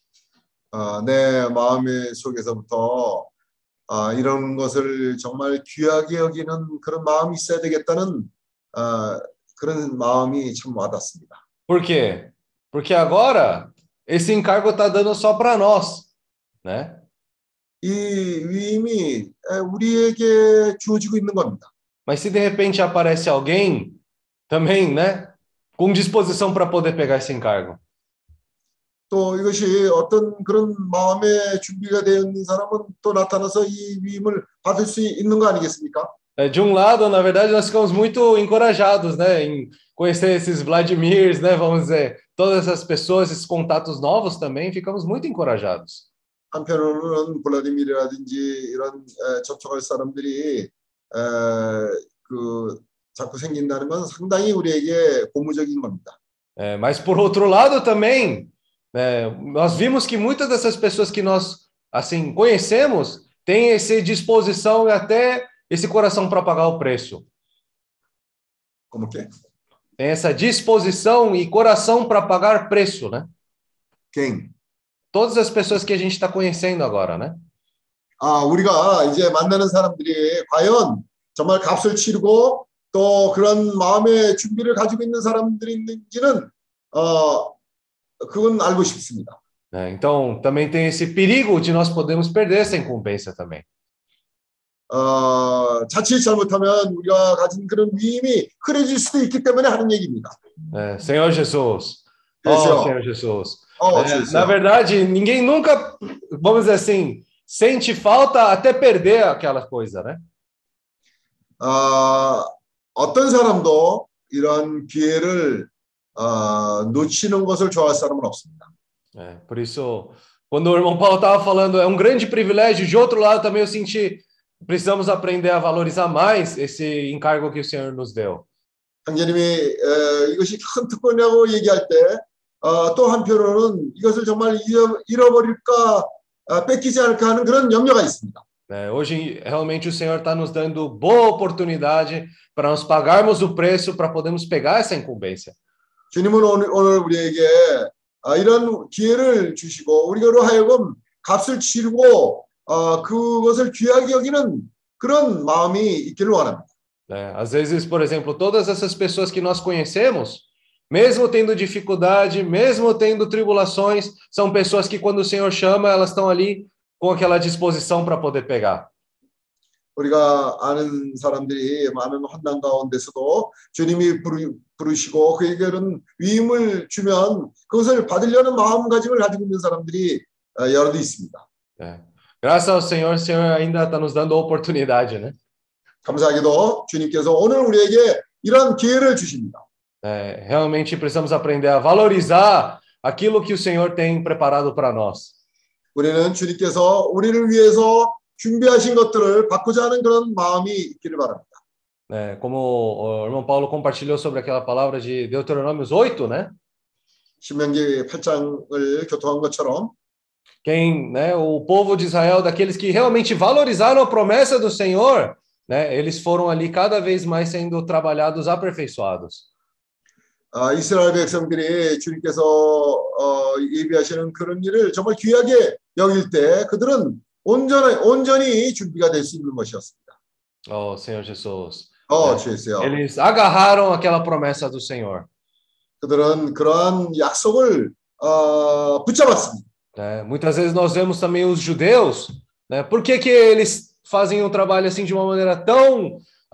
내 마음의 속에서부터 이런 것을 정말 귀하게 여기는 그런 마음이 있어야 되겠다는 그런 마음이 참 와닿습니다. Por quê? Porque agora esse encargo está dando só para nós, né? 이 위임이 우리에게 주어지고 있는 겁니다. Mas se de repente aparece alguém também, né, com disposição para poder pegar esse encargo. 또 이것이 어떤 그런 마음의 준비가 되어 있는 사람은 또 나타나서 이 위임을 받을 수 있는 거 아니겠습니까? De um lado, na verdade, nós ficamos muito encorajados, né, em conhecer esses Vladimirs, né, vamos dizer, todas essas pessoas, esses contatos novos também, ficamos muito encorajados. 한편으로는 블라디미르라든지 이런 접촉할 사람들이 자꾸 생긴다는 건 상당히 우리에게 고무적인 겁니다. Mas por outro lado também, nós vimos que muitas dessas pessoas que nós assim conhecemos têm essa disposição e até esse coração para pagar o preço. Como que? Tem essa disposição e coração para pagar preço, né? Quem? todas as pessoas que a gente está conhecendo agora, né? 우리가 이제 만나는 사람들이 과연 정말 값을 치르고 또 그런 마음의 준비를 가지고 있는 사람들이 있는지는 그건 알고 싶습니다. Então, também tem esse perigo de nós podemos perder essa incumbência também. 자칫 잘못하면 우리가 가진 그런 위임이 흔해질 수도 있기 때문에 하는 얘기입니다. Senhor Jesus. Senhor. Senhor Jesus. Jesus. Na verdade, ninguém nunca, vamos dizer assim, sente falta até perder aquela coisa, né? 어떤 사람도 이런 기회를 놓치는 것을 좋아할 사람은 없습니다. Por isso, quando o irmão Paulo estava falando, é um grande privilégio, de outro lado também eu senti, precisamos aprender a valorizar mais esse encargo que o Senhor nos deu. 형제님이 이것이 큰 특권이라고 얘기할 때 또 한편으로는 이것을 정말 잃어버릴까 뺏기지 않을까 하는 그런 염려가 있습니다. Hoje, realmente, o Senhor está nos dando boa oportunidade para nós pagarmos o preço para podermos pegar essa incumbência. 주님은 오늘 우리에게 이런 기회를 주시고 우리로 하여금 값을 치르고 그것을 귀하게 여기는 그런 마음이 있기를 원합니다. Às vezes, por exemplo, todas essas pessoas que nós conhecemos, mesmo tendo dificuldade, mesmo tendo tribulações, são pessoas que quando o Senhor chama, elas estão ali com aquela disposição para poder pegar. 우리가 아는 사람들이 많은 환난 가운데서도 주님이 부르시고 그에게는 위임을 주면 그것을 받으려는 마음가짐을 가지고 있는 사람들이 여럿 있습니다. Graças ao Senhor, o Senhor ainda está nos dando a oportunidade, né? 감사하게도 주님께서 오늘 우리에게 이런 기회를 주십니다. Realmente precisamos aprender a valorizar aquilo que o Senhor tem preparado para nós. 우리는 주님께서 우리를 위해서 준비하신 것들을 받고자 하는 그런 마음이 있기를 바랍니다. Como o irmão Paulo compartilhou sobre aquela palavra de Deuteronômios 8, né? 신명기 8장을 교통한 것처럼 o povo de Israel, daqueles que realmente valorizaram a promessa do Senhor, né? Eles foram ali cada vez mais sendo trabalhados, aperfeiçoados. 이스라엘 백성들이 주님께서 예비하시는 그런 일을 정말 귀하게 여길 때 그들은 온전히 준비가 될 수 있는 것이었습니다. Senhor Jesus. Jesus. Eles agarraram aquela promessa do Senhor. 그들은 그러한 약속을 붙잡았습니다. Muitas vezes nós vemos também os judeus, né? Por que eles fazem um trabalho assim de uma maneira tão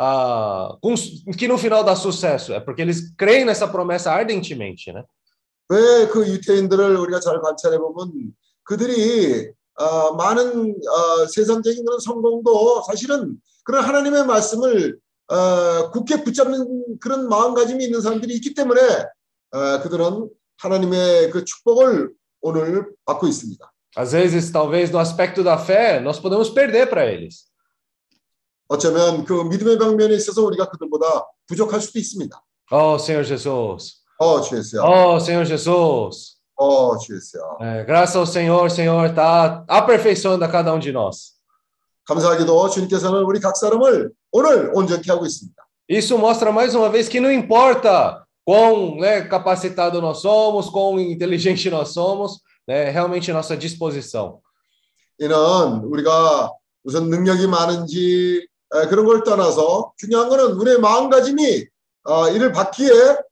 que no final dá sucesso? É porque eles creem nessa promessa ardentemente, né? 왜 그 유태인들을 우리가 잘 관찰해 보면 그들이 많은 세상적인 그런 성공도 사실은 그런 하나님의 말씀을 굳게 붙잡는 그런 마음가짐이 있는 사람들이 있기 때문에 그들은 하나님의 그 축복을 오늘 받고 있습니다. Às vezes, talvez no aspecto da fé, nós podemos perder para eles. 어쩌면 그 믿음의 방면에 있어서 우리가 그들보다 부족할 수도 있습니다. Senhor Jesus. 주여. Senhor Jesus. 주여. Graças ao Senhor, o Senhor está aperfeiçoando a cada um de nós. 감사하게도 주님께서는 우리 각 사람을 오늘 온전케 하고 있습니다. Isso mostra mais uma vez que não importa quão capacitado nós somos, quão inteligente nós somos, realmente nossa disposição. 이는 우리가 우선 능력이 많은지 그런 걸 떠나서 중요한 것은 우리의 마음가짐이 이를 받기에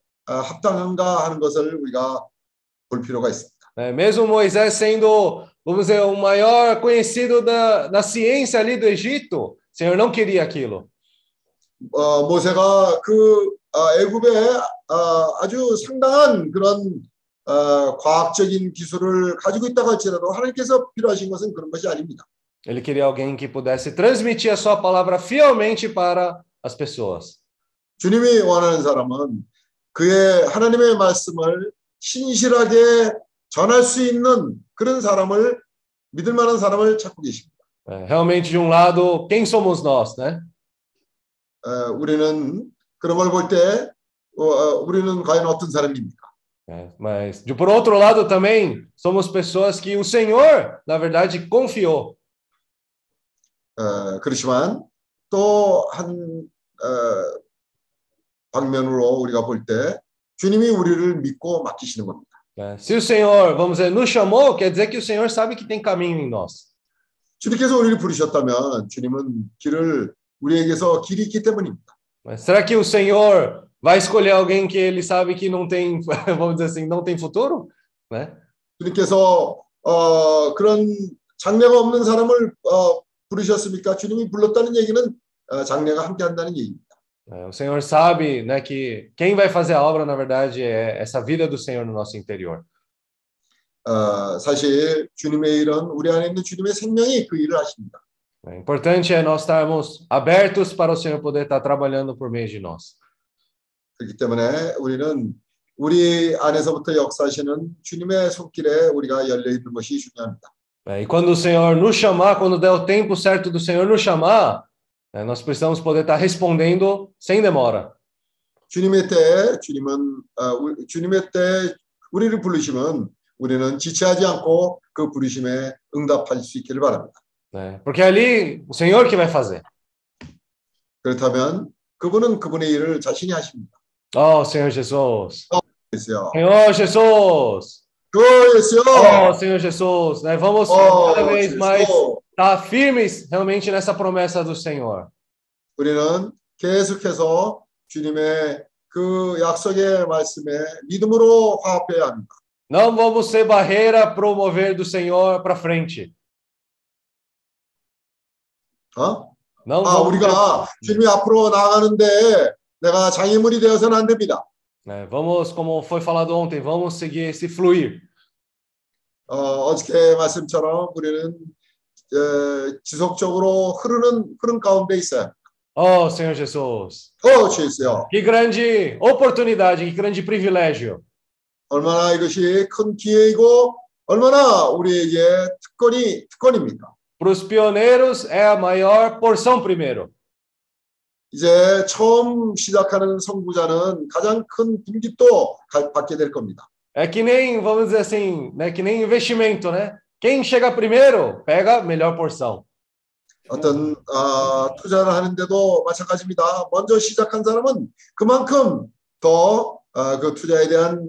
합당한가 하는 것을 우리가 볼 필요가 있습니다. Mesmo Moisés sendo, vamos dizer, o maior conhecido da ciência ali do Egito, o Senhor não queria aquilo. 모세가 그 애굽에 아주 상당한 그런 과학적인 기술을 가지고 있다고 할지라도 하나님께서 필요하신 것은 그런 것이 아닙니다. Ele queria alguém que pudesse transmitir a sua palavra fielmente para as pessoas. 주님이 원하는 사람은 그의 하나님의 말씀을 신실하게 전할 수 있는 그런 사람을 믿을 만한 사람을 찾고 계십니다. Realmente, de um lado, quem somos nós, né? 우리는 그런 걸 볼 때 우리는 과연 어떤 사람입니까? Mas, por outro lado, também somos pessoas que o Senhor, na verdade, confiou. 그렇지만 또 한 방면으로 우리가 볼 때 주님이 우리를 믿고 맡기시는 겁니다. Se o Senhor, vamos dizer, nos chamou, quer dizer que o Senhor sabe que tem caminho em nós. 주님께서 우리를 부르셨다면 주님은 길을 우리에게서 길이 있기 때문입니다. Mas será que o Senhor vai escolher alguém que ele sabe que não tem, vamos dizer assim, não tem futuro? Né? 주님께서 그런 장래가 없는 사람을 부르셨습니까? 주님이 불렀다는 얘기는 장래가 함께한다는 얘기입니다. O Senhor sabe, né, que quem vai fazer a obra, na verdade, é essa vida do Senhor no nosso interior. 사실 주님의 일은 우리 안에 있는 주님의 생명이 그 일을 하십니다. Importante é nós estarmos abertos para o Senhor poder estar trabalhando por meio de nós. 그렇기 때문에 우리는 우리 안에서부터 역사하시는 주님의 손길에 우리가 열려 있는 것이 중요합니다. E quando o Senhor nos chamar, quando der o tempo certo do Senhor nos chamar, nós precisamos poder estar respondendo sem demora. 주님의 때 주님의 때 우리를 부르시면 우리는 지체하지 않고 그 부르심에 응답할 수 있기를 바랍니다. Porque é ali o Senhor que vai fazer. 그렇다면 그분은 그분의 일을 자신이 하십니다. Oh, Senhor Jesus. 그래서요. Senhor Jesus. 그래서요. Oh, Senhor Jesus. Vamos cada vez Jesus. mais estar firmes realmente nessa promessa do Senhor. 우리는 계속해서 주님의 그 약속의 말씀에 믿음으로 화합해야 합니다. Não vamos ser barreira para o mover do Senhor para frente. Não vamos 우리가 주님이 앞으로 나아가는데 내가 장애물이 되어서는 안 됩니다. Vamos, como foi falado ontem, vamos seguir esse fluir. 어저께 말씀처럼 우리는 지속적으로 흐르는 흐름 가운데 있어요. Oh, Senhor Jesus. 주여. Que grande oportunidade, que grande privilégio. 얼마나 이것이 큰 기회이고 얼마나 우리에게 특권입니까? Para os pioneiros é a maior porção primeiro. 이제 처음 시작하는 선구자는 가장 큰 분깃도 받게 될 겁니다. É que nem, vamos dizer assim, né, que nem investimento, né? Quem chega primeiro pega a melhor porção. 어떤 투자를 하는데도 마찬가지입니다. 먼저 시작한 사람은 그만큼 더 그 투자에 대한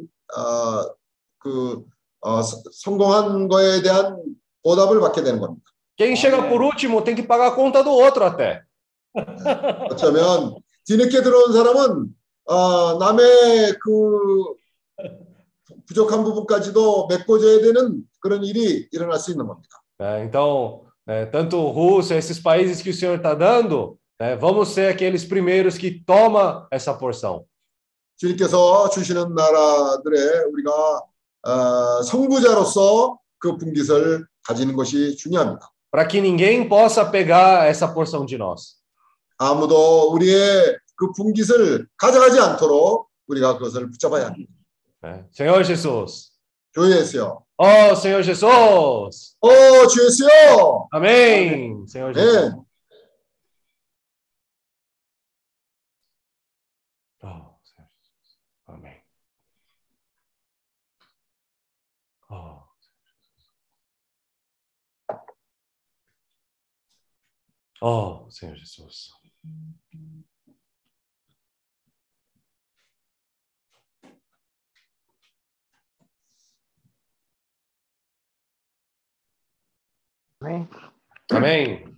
성공한 거에 대한 보답을 받게 되는 겁니다. Quem chega por último tem que pagar a conta do outro até. 어쩌면 뒤늦게 들어온 사람은 남의 그 부족한 부분까지도 메꿔줘야 되는 그런 일이 일어날 수 있는 겁니다. Então, tanto Rússia, esses países que o Senhor está dando, vamos ser aqueles primeiros que toma essa porção. 주님께서 주시는 나라들의 우리가 선구자로서 그 분깃을 가지는 것이 중요합니다. Para que ninguém possa pegar essa porção de nós. 아무도 우리의 그 분깃을 가져가지 않도록 우리가 그것을 붙잡아야 합니다. Senhor Jesus. 주 예수요. Oh, Senhor Jesus. 주 예수요. Amém. Senhor Jesus. 네. Oh, Senhor Jesus. Amém. Oh. Oh, Senhor Jesus. Amém. Amém.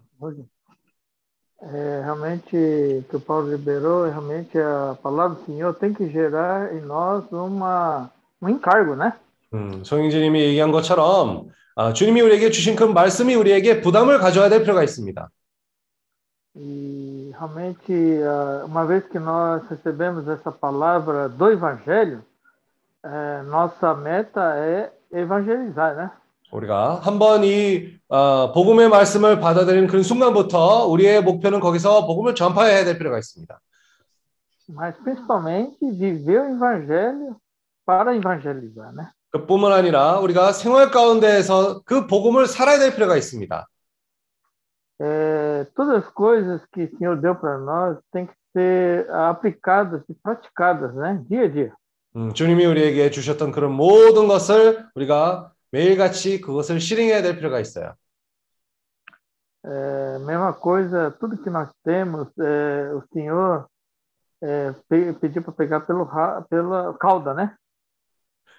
Realmente, o que o Paulo liberou, realmente a palavra do Senhor tem que gerar em nós um encargo, né? 송영진님이 얘기한 것처럼 주님이 우리에게 주신 그 말씀이 우리에게 부담을 가져야 될 필요가 있습니다. E realmente, uma vez que nós recebemos essa palavra do Evangelho, nossa meta é evangelizar, né? 우리가 한번 이 복음의 말씀을 받아들이는 그 순간부터 우리의 목표는 거기서 복음을 전파해야 될 필요가 있습니다. Mas principalmente viver o Evangelho para evangelizar, né? 그뿐만 아니라 우리가 생활 가운데에서 그 복음을 살아야 될 필요가 있습니다. Todas as coisas que o Senhor deu para nós têm que ser aplicadas e praticadas, né? Dia a dia. 주님이 우리에게 주셨던 그런 모든 것을 우리가 매일같이 그것을 실행해야 될 필요가 있어요. Mesma coisa, tudo que nós temos, o Senhor pediu para pegar pela cauda, né?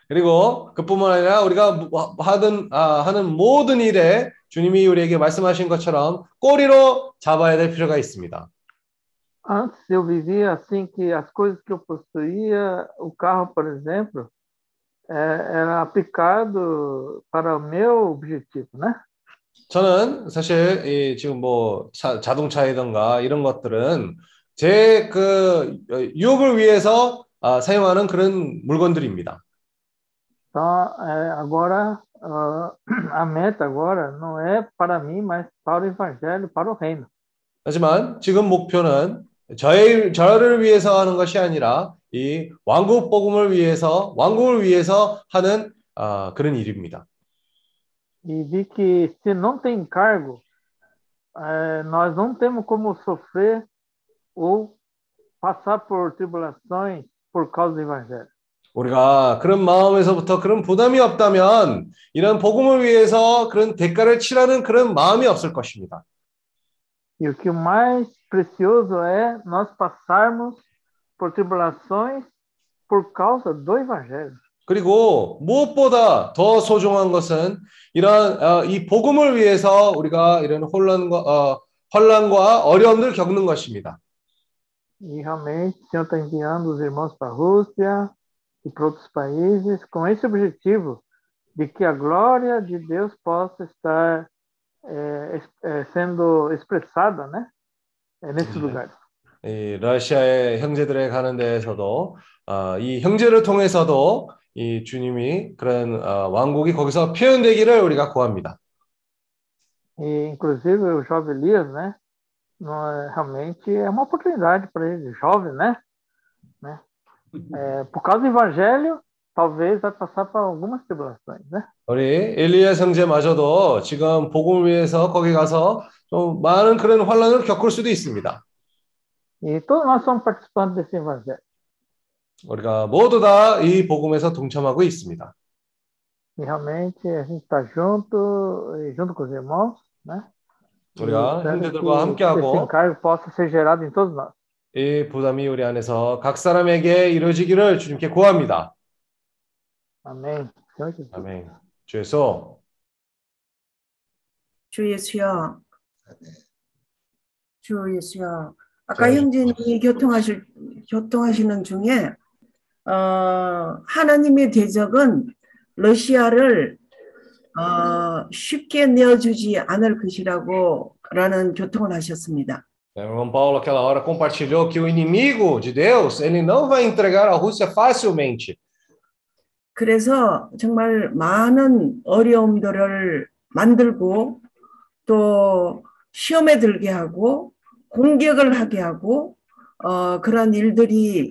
그리고 그뿐만 아니라 우리가 하는 모든 일에 주님이 우리에게 말씀하신 것처럼 꼬리로 잡아야 될 필요가 있습니다. Antes eu vivia assim que as coisas que eu possuía, o carro, por exemplo, era aplicado para o meu objetivo, né? 저는 사실 지금 뭐 자동차이든가 이런 것들은 제 그 유혹을 위해서 사용하는 그런 물건들입니다. Então, agora, a meta agora não é para mim, mas para o evangelho, para o reino. 하지만 지금 목표는 저를 위해서 하는 것이 아니라 이 왕국을 위해서 하는 그런 일입니다. E vi que se não tem encargo, nós não temos como sofrer ou passar por tribulações por causa do evangelho. 우리가 그런 마음에서부터 그런 부담이 없다면 이런 복음을 위해서 그런 대가를 치르는 그런 마음이 없을 것입니다. E o que mais precioso é nós passarmos por tribulações por causa do evangelho. 그리고 무엇보다 더 소중한 것은 이런 이 복음을 위해서 우리가 이런 혼란과 어려움을 겪는 것입니다. E realmente o Senhor está enviando os irmãos para a Rússia e para outros países com esse objetivo de que a glória de Deus possa estar sendo expressada, né? Nesses lugares. 이 러시아의 형제들에 가는 데에서도 이 형제를 통해서도 이 주님이 그런 왕국이 거기서 표현되기를 우리가 구합니다. E inclusive o jovem Elias, né? Realmente é uma oportunidade para ele, jovem, né? Por causa do evangelho, talvez vai passar por algumas tribulações, né? 우리 엘리야 형제마저도 지금 복음을 위해서 거기 가서 좀 많은 그런 환란을 겪을 수도 있습니다. E todos nós somos participantes desse evangelho. 우리가 모두 다 이 복음에서 동참하고 있습니다. E realmente a gente está junto com os irmãos, né? 우리가 형제들과 esse 함께하고 encargo possa ser gerado em todos nós. 이 부담이 우리 안에서 각 사람에게 이루어지기를 주님께 구합니다. Amém. Senhor Jesus. 아멘. 주 예수. 주 예수여. 주 예수여. 아까 형제님이 교통하시는 중에 하나님의 대적은 러시아를 쉽게 내어주지 않을 것이라는 교통을 하셨습니다. O irmão Paulo, aquela hora, compartilhou que o inimigo de Deus, ele não vai entregar a Rússia facilmente. 그래서 정말 많은 어려움들을 만들고 또 시험에 들게 하고 공격을 하게 하고 그런 일들이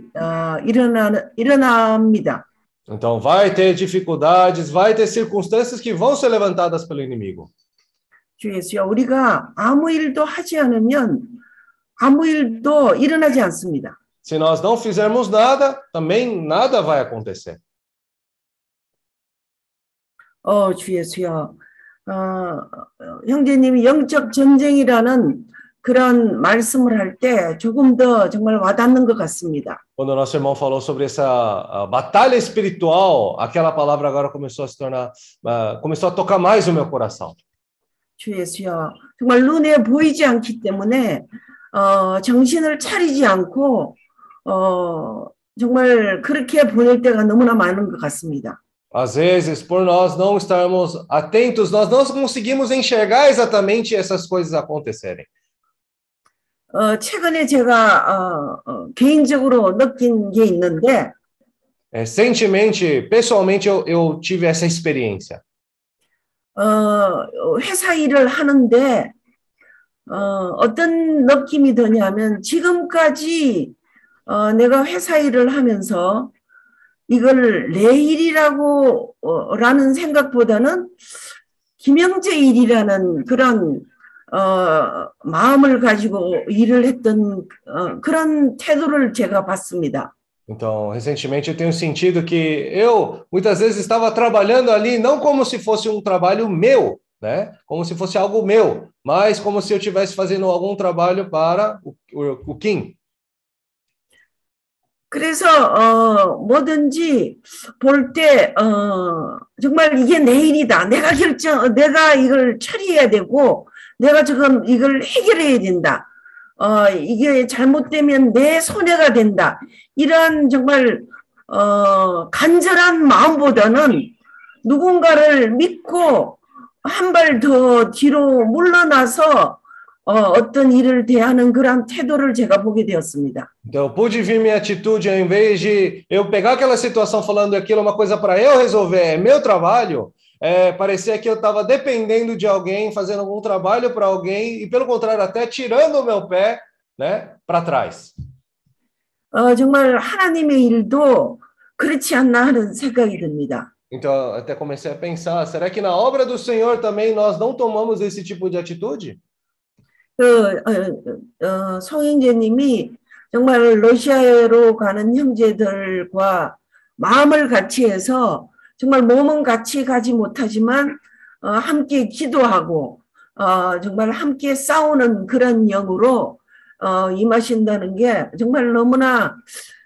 일어납니다. Então vai ter dificuldades, vai ter circunstâncias que vão ser levantadas pelo inimigo. 주 예수여, 우리가 아무 일도 하지 않으면 아무 일도 일어나지 않습니다. Se nós não fizermos nada, também nada vai acontecer. 주 예수여, 형제님이 영적 전쟁이라는 그런 말씀을 할 때 조금 더 정말 와닿는 것 같습니다. Quando o nosso irmão falou sobre essa batalha espiritual, aquela palavra agora começou a se tornar, começou a tocar mais o meu coração. 주 예수여, 정말 눈에 보이지 않기 때문에 정신을 차리지 않고 정말 그렇게 보낼 때가 너무나 많은 것 같습니다. Às vezes, por nós não estarmos atentos, nós não conseguimos enxergar exatamente essas coisas acontecerem. 최근에 제가 개인적으로 느낀 게 있는데, Recentemente, pessoalmente, eu tive essa experiência. 회사 일을 하는데 어떤 느낌이 드냐면 지금까지 내가 회사 일을 하면서 이걸 내 일이라고 라는 생각보다는 김영재 일이라는 그런 마음을 가지고 일을 했던 그런 태도를 제가 봤습니다. Então, recentemente eu tenho sentido que eu muitas vezes estava trabalhando ali não como se fosse um trabalho meu, né? Como se fosse algo meu, mas como se eu estivesse fazendo algum trabalho para o Kim. 그래서 뭐든지 볼 때 정말 이게 내 일이다. 내가 이걸 처리해야 되고 내가 지금 이걸 해결해야 된다. 이게 잘못되면 내 손해가 된다. 이런 정말 간절한 마음보다는 누군가를 믿고 한 발 더 뒤로 물러나서 어떤 일을 대하는 그런 태도를 제가 보게 되었습니다. Então, eu pude ver minha atitude, ao invés de eu pegar aquela situação falando aquilo é uma coisa para eu resolver, é meu trabalho, parecia que eu estava dependendo de alguém, fazendo algum trabalho para alguém, e pelo contrário, até tirando o meu pé, né, para trás. 정말 하나님의 일도 그렇지 않나 하는 생각이 듭니다. Então, até comecei a pensar, será que na obra do Senhor também nós não tomamos esse tipo de atitude? 송영재님이 정말 러시아로 가는 형제들과 마음을 같이 해서 정말 몸은 같이 가지 못하지만 함께 기도하고 정말 함께 싸우는 그런 영으로 임하신다는 게 정말 너무나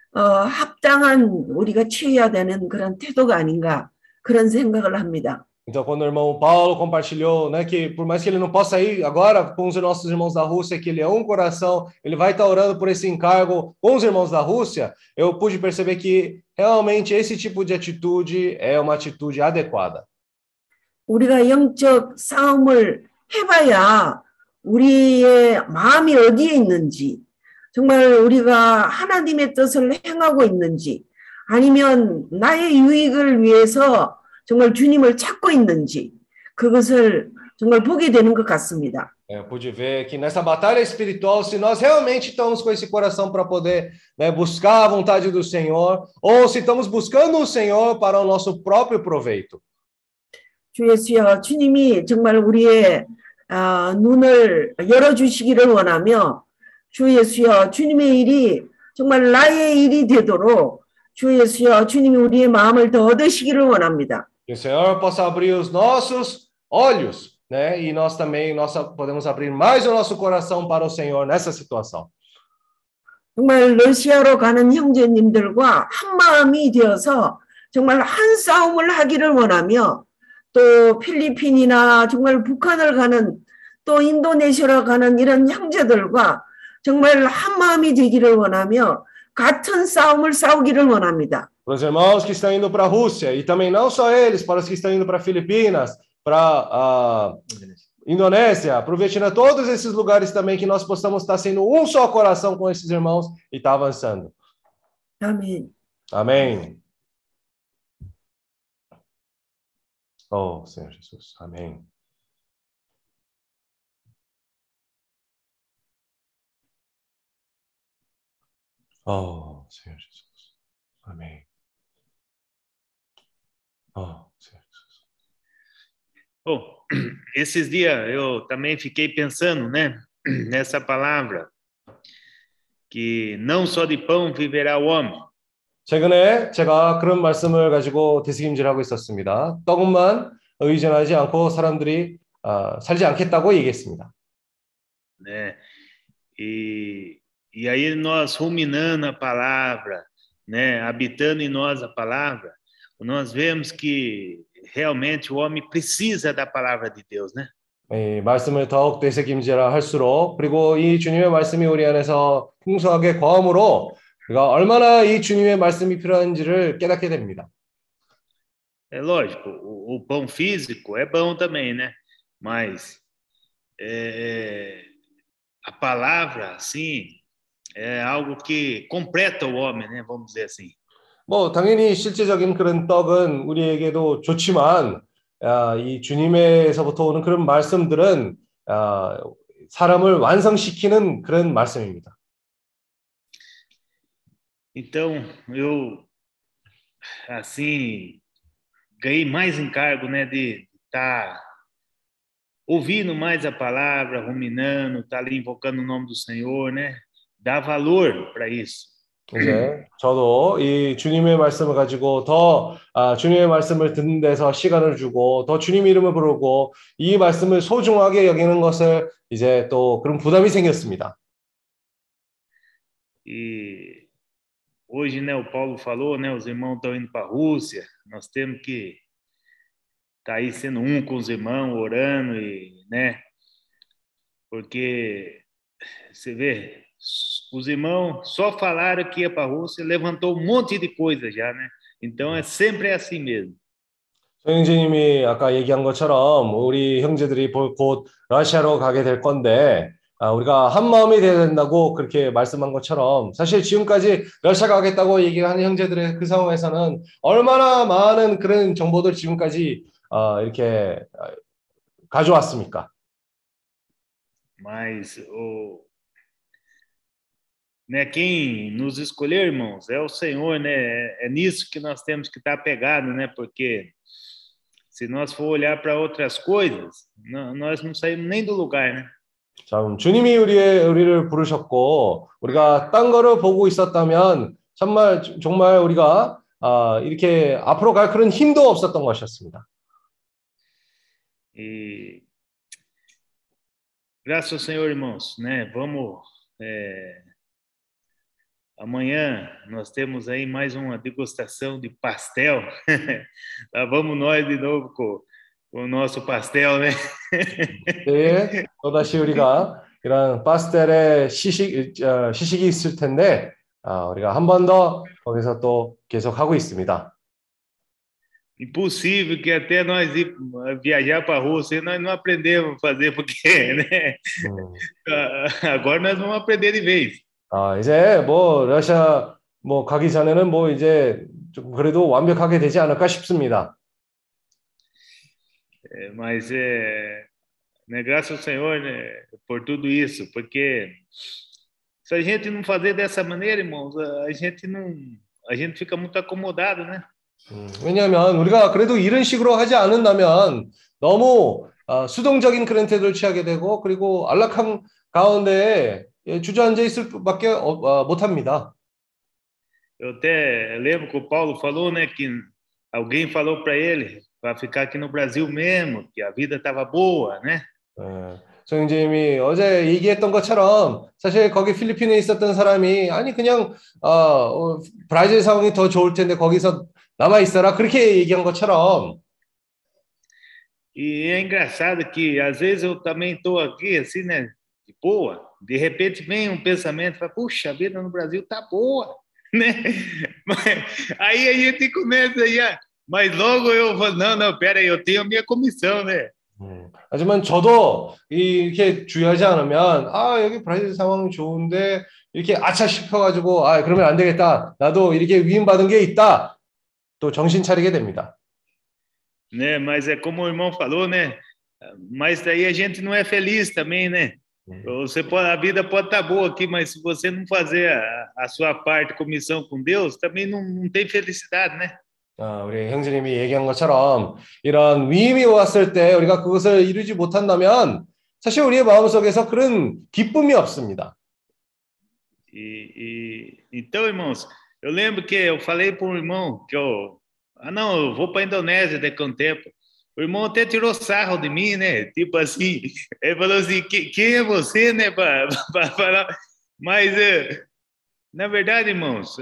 합당한 우리가 취해야 되는 그런 태도가 아닌가 그런 생각을 합니다. Então, quando o irmão Paulo compartilhou, né, que por mais que ele não possa ir agora com os nossos irmãos da Rússia, que ele é um coração, ele vai estar orando por esse encargo com os irmãos da Rússia, eu pude perceber que realmente esse tipo de atitude é uma atitude adequada. 우리가 영적 싸움을 해봐야 우리의 마음이 어디에 있는지, 정말 우리가 하나님의 뜻을 행하고 있는지, 아니면 나의 유익을 위해서 정말 주님을 찾고 있는지 그것을 정말 보게 되는 것 같습니다. Eu pude ver que nessa batalha espiritual, se nós realmente estamos com esse coração para poder, né, buscar a vontade do Senhor, ou se estamos buscando o Senhor para o nosso próprio proveito. 주 예수여, 주님이 정말 우리의 눈을 열어주시기를 원하며, 주 예수여, 주님의 일이 정말 나의 일이 되도록 주 예수여, 주님이 우리의 마음을 더 얻으시기를 원합니다. Que o Senhor possa abrir os nossos olhos, né? E nós também podemos abrir mais o nosso coração para o Senhor nessa situação. 정말 러시아로 가는 형제님들과 한 마음이 되어서 정말 한 싸움을 하기를 원하며 또 필리핀이나 정말 북한을 가는 또 인도네시아로 가는 이런 형제들과 정말 한 마음이 되기를 원하며 같은 싸움을 싸우기를 원합니다. Para os irmãos que estão indo para a Rússia, e também não só eles, para os que estão indo para Filipinas, para Indonésia, para o Vietnã, todos esses lugares também que nós possamos estar sendo um só coração com esses irmãos e estar avançando. 아멘. Amém. Oh, Senhor Jesus. Amém. Oh, Senhor Jesus. Amém. Oh, Senhor Jesus. Bom, esses dias eu também fiquei pensando, né, nessa palavra, que não só de pão viverá o homem. 최근에 제가 그런 말씀을 가지고 되새김질하고 있었습니다. 떡만 의존하지 않고 사람들이 살지 않겠다고 얘기했습니다. Né? E aí nós ruminando a palavra, né, habitando em nós a palavra, nós vemos que realmente o homem precisa da palavra de Deus, né? 말씀을 더욱 되새김질을 할수록 그리고 이 주님의 말씀이 우리 안에서 풍성하게 거함으로 우리가 얼마나 이 주님의 말씀이 필요한지를 깨닫게 됩니다. É lógico, o pão físico é bom também, né? Mas a palavra, assim, é algo que completa o homem, né? Vamos dizer assim. 뭐 당연히 실제적인 그런 떡은 우리에게도 좋지만 이 주님에서부터 오는 그런 말씀들은 사람을 완성시키는 그런 말씀입니다. Então, eu assim ganhei mais encargo, né, de estar ouvindo mais a palavra, ruminando, estar ali invocando o nome do Senhor, né? Dar valor para isso. 이제 저도 이 주님의 말씀을 가지고 더 주님의 말씀을 듣는 데서 시간을 주고 더 주님 이름을 부르고 이 말씀을 소중하게 여기는 것을 이제 또 그런 부담이 생겼습니다. E hoje, né, o Paulo falou, né, os irmãos estão indo para a Rússia, nós temos que estar aí sendo um com os irmãos, orando, e, né, porque você vê, os irmãos só falaram que ia para a Rússia, levantou um monte de coisa já, né? Então sempre assim mesmo. 소영재님이 아까 얘기한 것처럼 우리 형제들이 곧 러시아로 가게 될 건데 우리가 한 마음이 되어야 된다고 그렇게 말씀한 것처럼 사실 지금까지 러시아 가겠다고 얘기하는 형제들의 그 상황에서는 얼마나 많은 그런 정보들 지금까지 이렇게 가져왔습니까? Mas né, quem nos escolheu, irmãos, é o Senhor, né? É nisso que nós temos que estar apegados, né? Porque se nós for olhar para outras coisas, nós não saímos nem do lugar, né? 참, 주님이 우리를 부르셨고 우리가 딴 거를 보고 있었다면 정말 우리가 이렇게 앞으로 갈 그런 힘도 없었던 것이었습니다. E graças ao Senhor, irmãos, né? Vamos amanhã nós temos aí mais uma degustação de pastel. Lá vamos nós de novo com o nosso pastel, né? 네, 또다시 우리가 이런 파스텔의 시식이 있을 텐데 우리가 한 번 더 거기서 또 계속 하고 있습니다. Impossível que até nós ir viajar para a Rússia nós não aprendemos a fazer, porque, né? Agora nós vamos aprender de vez. 이제 뭐 러시아 뭐 가기 전에는 뭐 이제 좀 그래도 완벽하게 되지 않을까 싶습니다. Mas né, graças ao Senhor, né, por tudo isso, porque se a gente não fazer dessa maneira, irmãos, a gente fica muito acomodado, né? 왜냐하면 우리가 그래도 이런 식으로 하지 않는다면 너무 수동적인 그런 태도를 취하게 되고 그리고 안락함 가운데 주저앉아 있을 밖에 못합니다. Eu até lembro que o Paulo falou, né, que alguém falou para ele para ficar aqui no Brasil mesmo, que a vida estava boa, né? 정님이 어제 얘기했던 것처럼 사실 거기 필리핀에 있었던 사람이 아니 그냥 브라질 상황이 더 좋을 텐데 거기서 남아 있어라 그렇게 얘기한 것처럼. E é engraçado que às vezes eu também estou aqui assim, né, de boa, de repente vem um pensamento, fala, puxa, a vida no Brasil tá boa, né? Aí a gente começa mas logo eu falo, não, pera aí, eu tenho a minha comissão, né? 하지만 저도 이렇게 주의하지 않으면 여기 브라질 상황이 좋은데 이렇게 아차 싶어가지고 그러면 안 되겠다. 나도 이렇게 위임받은 게 있다. 또 정신 차리게 됩니다. Né, mas é como o irmão falou, né? Mas daí a gente não é feliz também, né? A vida pode estar boa aqui, mas se você não fazer a sua parte, comissão com Deus, também não tem felicidade, né? 우리 형제님이 얘기한 것처럼 이런 위임이 왔을 때 우리가 그것을 이루지 못한다면 사실 우리의 마음속에서 그런 기쁨이 없습니다. Então, irmãos, eu lembro que eu falei para um irmão que eu vou para a Indonésia daqui a um tempo. O irmão até tirou sarro de mim, né? Tipo assim, ele falou assim, quem é você, né? Para falar. Mas, na verdade, irmãos,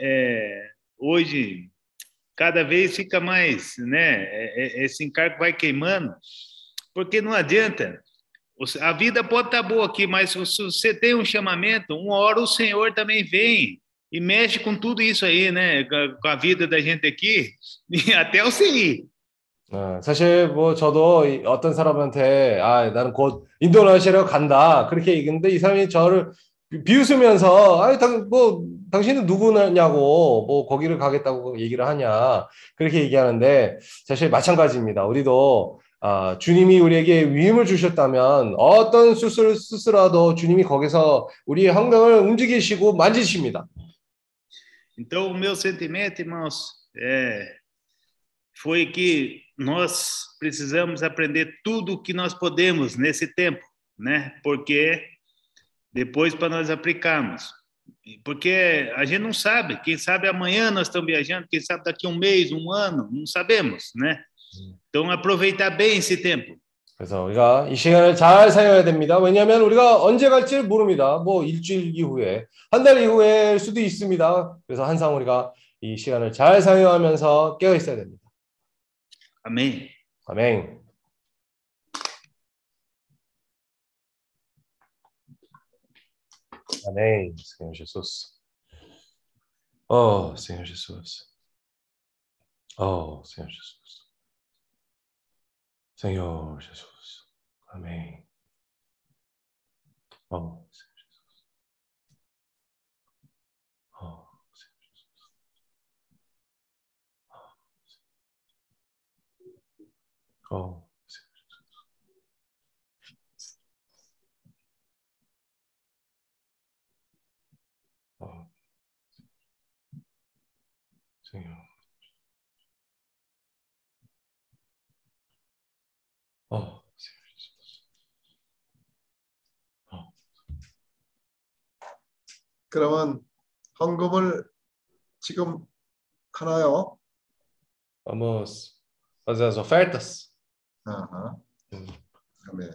hoje cada vez fica mais, né? Esse encargo vai queimando, porque não adianta. A vida pode estar boa aqui, mas se você tem um chamamento, uma hora o Senhor também vem e mexe com tudo isso aí, né? Com a vida da gente aqui, e até você ir. 사실 뭐 저도 어떤 사람한테 나는 곧 인도네시아로 간다 그렇게 얘기했는데 이 사람이 저를 비웃으면서 당신은 누구냐고 뭐 거기를 가겠다고 얘기를 하냐 그렇게 얘기하는데 사실 마찬가지입니다. 우리도 주님이 우리에게 위임을 주셨다면 어떤 수술을 쓰더라도 주님이 거기서 우리의 환경을 움직이시고 만지십니다. Então o meu sentimento, irmãos, foi que nós precisamos aprender tudo o que nós podemos nesse tempo, né? Porque depois para nós aplicarmos. Porque a gente não sabe, quem sabe amanhã nós estamos viajando, quem sabe daqui a um mês, um ano, não sabemos, né? Então aproveitar bem esse tempo. 그래서 우리가 이 시간을 잘 사용해야 됩니다. 왜냐하면 우리가 언제 갈지를 모릅니다. 뭐 일주일 이후에, 한 달 이후일 수도 있습니다. 그래서 항상 우리가 이 시간을 잘 사용하면서 깨어 있어야 됩니다. Amém. 아멘. Amém, Senhor Jesus. Oh, Senhor Jesus. Oh, Senhor Jesus. Senhor Jesus. Amém. Oh, Senhor Jesus. Oh, Senhor Jesus. Oh, Senhor Jesus. Oh, Senhor. Oh, Senhor Jesus. Oh. 그러면 헌금을 지금 하나요? Vamos fazer as ofertas? 아하. 아멘.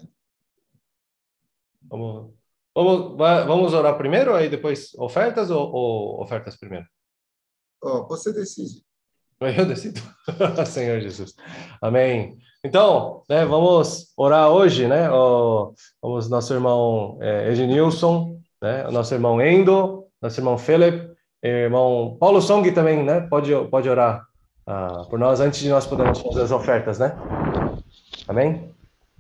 Vamos orar primeiro, aí depois ofertas ou ofertas primeiro? você decide. Eu decido. Senhor Jesus. Amém. Então, né, vamos orar hoje, né? Vamos nosso irmão Ednilson, né? Nosso irmão Endo, nosso irmão Philip, irmão Paulo Song também, né? Pode orar por nós antes de nós podermos fazer as ofertas, né? Amém?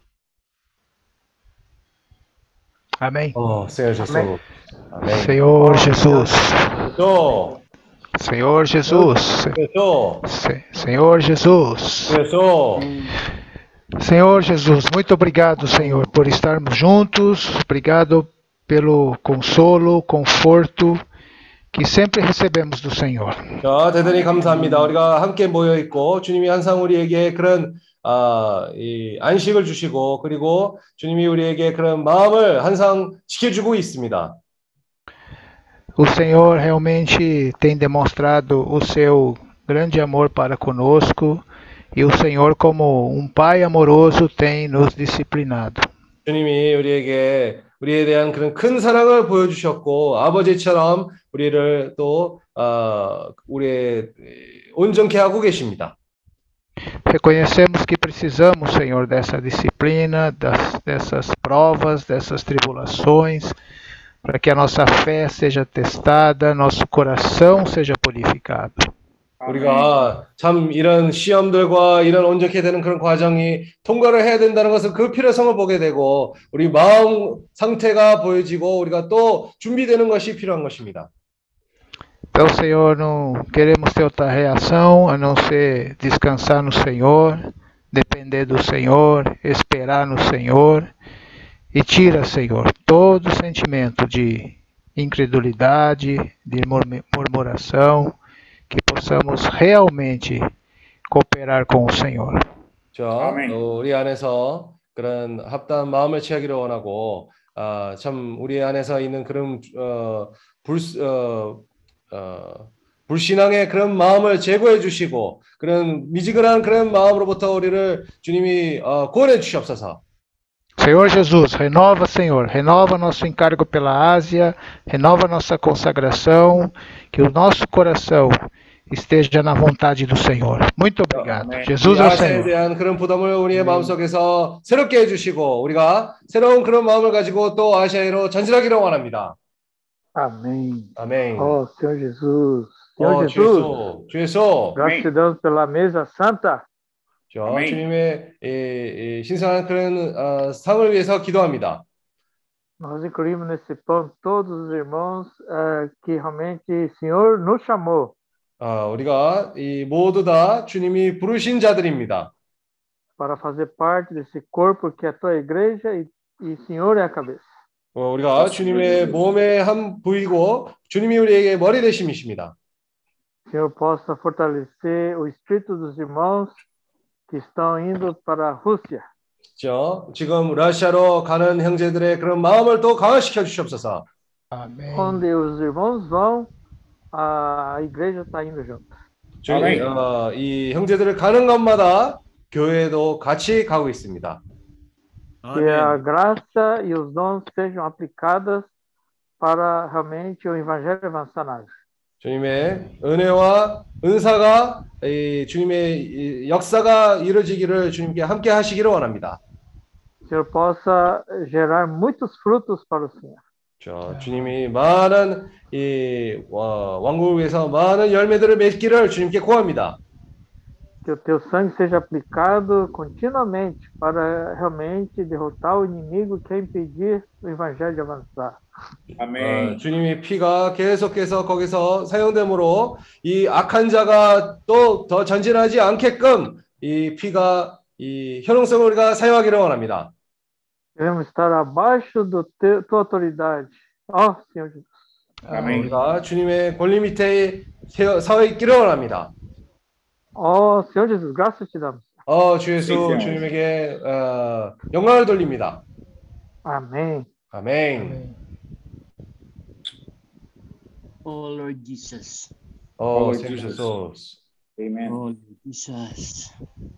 Amém. Oh, Senhor Jesus. Amém. Amém. Senhor Jesus. Fechou. Senhor Jesus. Fechou. Senhor Jesus. Fechou. Senhor Jesus, muito obrigado, Senhor, por estarmos juntos. Obrigado pelo consolo, conforto que sempre recebemos do Senhor. 자, 대단히 감사합니다. 우리가 함께 모여 있고 주님이 항상 우리에게 그런 이 안식을 주시고 그리고 주님이 우리에게 그런 마음을 항상 지켜주고 있습니다. O Senhor realmente tem demonstrado o seu grande amor para conosco e o Senhor, como um pai amoroso, tem nos disciplinado. 주님이 우리에 대한 그런 큰 사랑을 보여주셨고 아버지처럼 우리를 또 우리의 온전케 하고 계십니다. Reconhecemos que precisamos, Senhor, dessa disciplina, dessas provas, dessas tribulações, para que a nossa fé seja testada, nosso coração seja purificado. 우리가 참 이런 시험들과 이런 온전케 되는 그런 과정이 통과를 해야 된다는 것은 그 필요성을 보게 되고 우리 마음 상태가 보여지고 우리가 또 준비되는 것이 필요한 것입니다. Então, Senhor, não queremos ter outra reação a não ser descansar no Senhor, depender do Senhor, esperar no Senhor e tira, Senhor, todo sentimento de incredulidade, de murmuração, que possamos realmente cooperar com o Senhor. 자, 우리 안에서 그런 합당한 마음을 취하기를 원하고 참 우리 안에서 있는 그런 불신앙의 그런 마음을 제거해 주시고 그런 미지근한 그런 마음으로부터 우리를 주님이 구원해 주시옵소서. Senhor Jesus, renova, Senhor, renova nosso encargo pela Ásia, renova nossa consagração, que o nosso coração esteja na vontade do Senhor. Muito obrigado. Jesus é o 아시아에 Senhor. 대한 그런 부담을 우리의 마음속에서 새롭게 해주시고 우리가 새로운 그런 마음을 가지고 또 아시아로 전진하기를 원합니다. Amém. 아멘. Oh, Senhor Jesus. Senhor Jesus. 주 예수. Gratidão pela mesa santa. 자, 주님의 신성한 그런 상을 위해서 기도합니다. Nós incluímos nesse pão todos os irmãos que realmente o Senhor nos chamou. 우리가 모두 다 주님이 부르신 자들입니다. Para fazer parte desse corpo que é a tua igreja e o Senhor é a cabeça. 우리가 주님의 몸의 한 부위고 주님이 우리에게 머리 되심이십니다. Senhor possa fortalecer o espírito dos irmãos que estão indo para a Rússia. 지금 러시아로 가는 형제들의 그런 마음을 또 강화시켜 주시옵소서. Amém. Onde os irmãos vão, a igreja está indo junto. 이 형제들을 가는 곳마다 교회도 같이 가고 있습니다. Que a 아멘. graça e os dons sejam aplicadas para realmente o evangelho avançar na arte. 주님의 은혜와 은사가 주님의 이 역사가 이루어지기를 주님께 함께 하시기를 원합니다. Que o Senhor possa gerar muitos frutos para o Senhor. 주님이 많은 이 왕국을 위해서 많은 열매들을 맺기를 주님께 구합니다. Que o teu sangue seja aplicado continuamente para realmente derrotar o inimigo que quer impedir o evangelho de avançar. Amém. 주님의 피가 계속해서 거기서 사용됨으로 이 악한 자가 또 더 전진하지 않게끔 이 피가 이 효능성을 우리가 사용하기를 원합니다. Queremos estar abaixo tua autoridade. Ó, Senhor Jesus. Amém. 우리가 주님의 권리 밑에 서 있기를 원합니다. Ó, Senhor Jesus, graças te damos. 주 예수 네, 주님에게 영광을 돌립니다. Amém. 아멘. Oh Lord Jesus. Lord Senhor Jesus. Jesus. Amen. Oh Lord Jesus.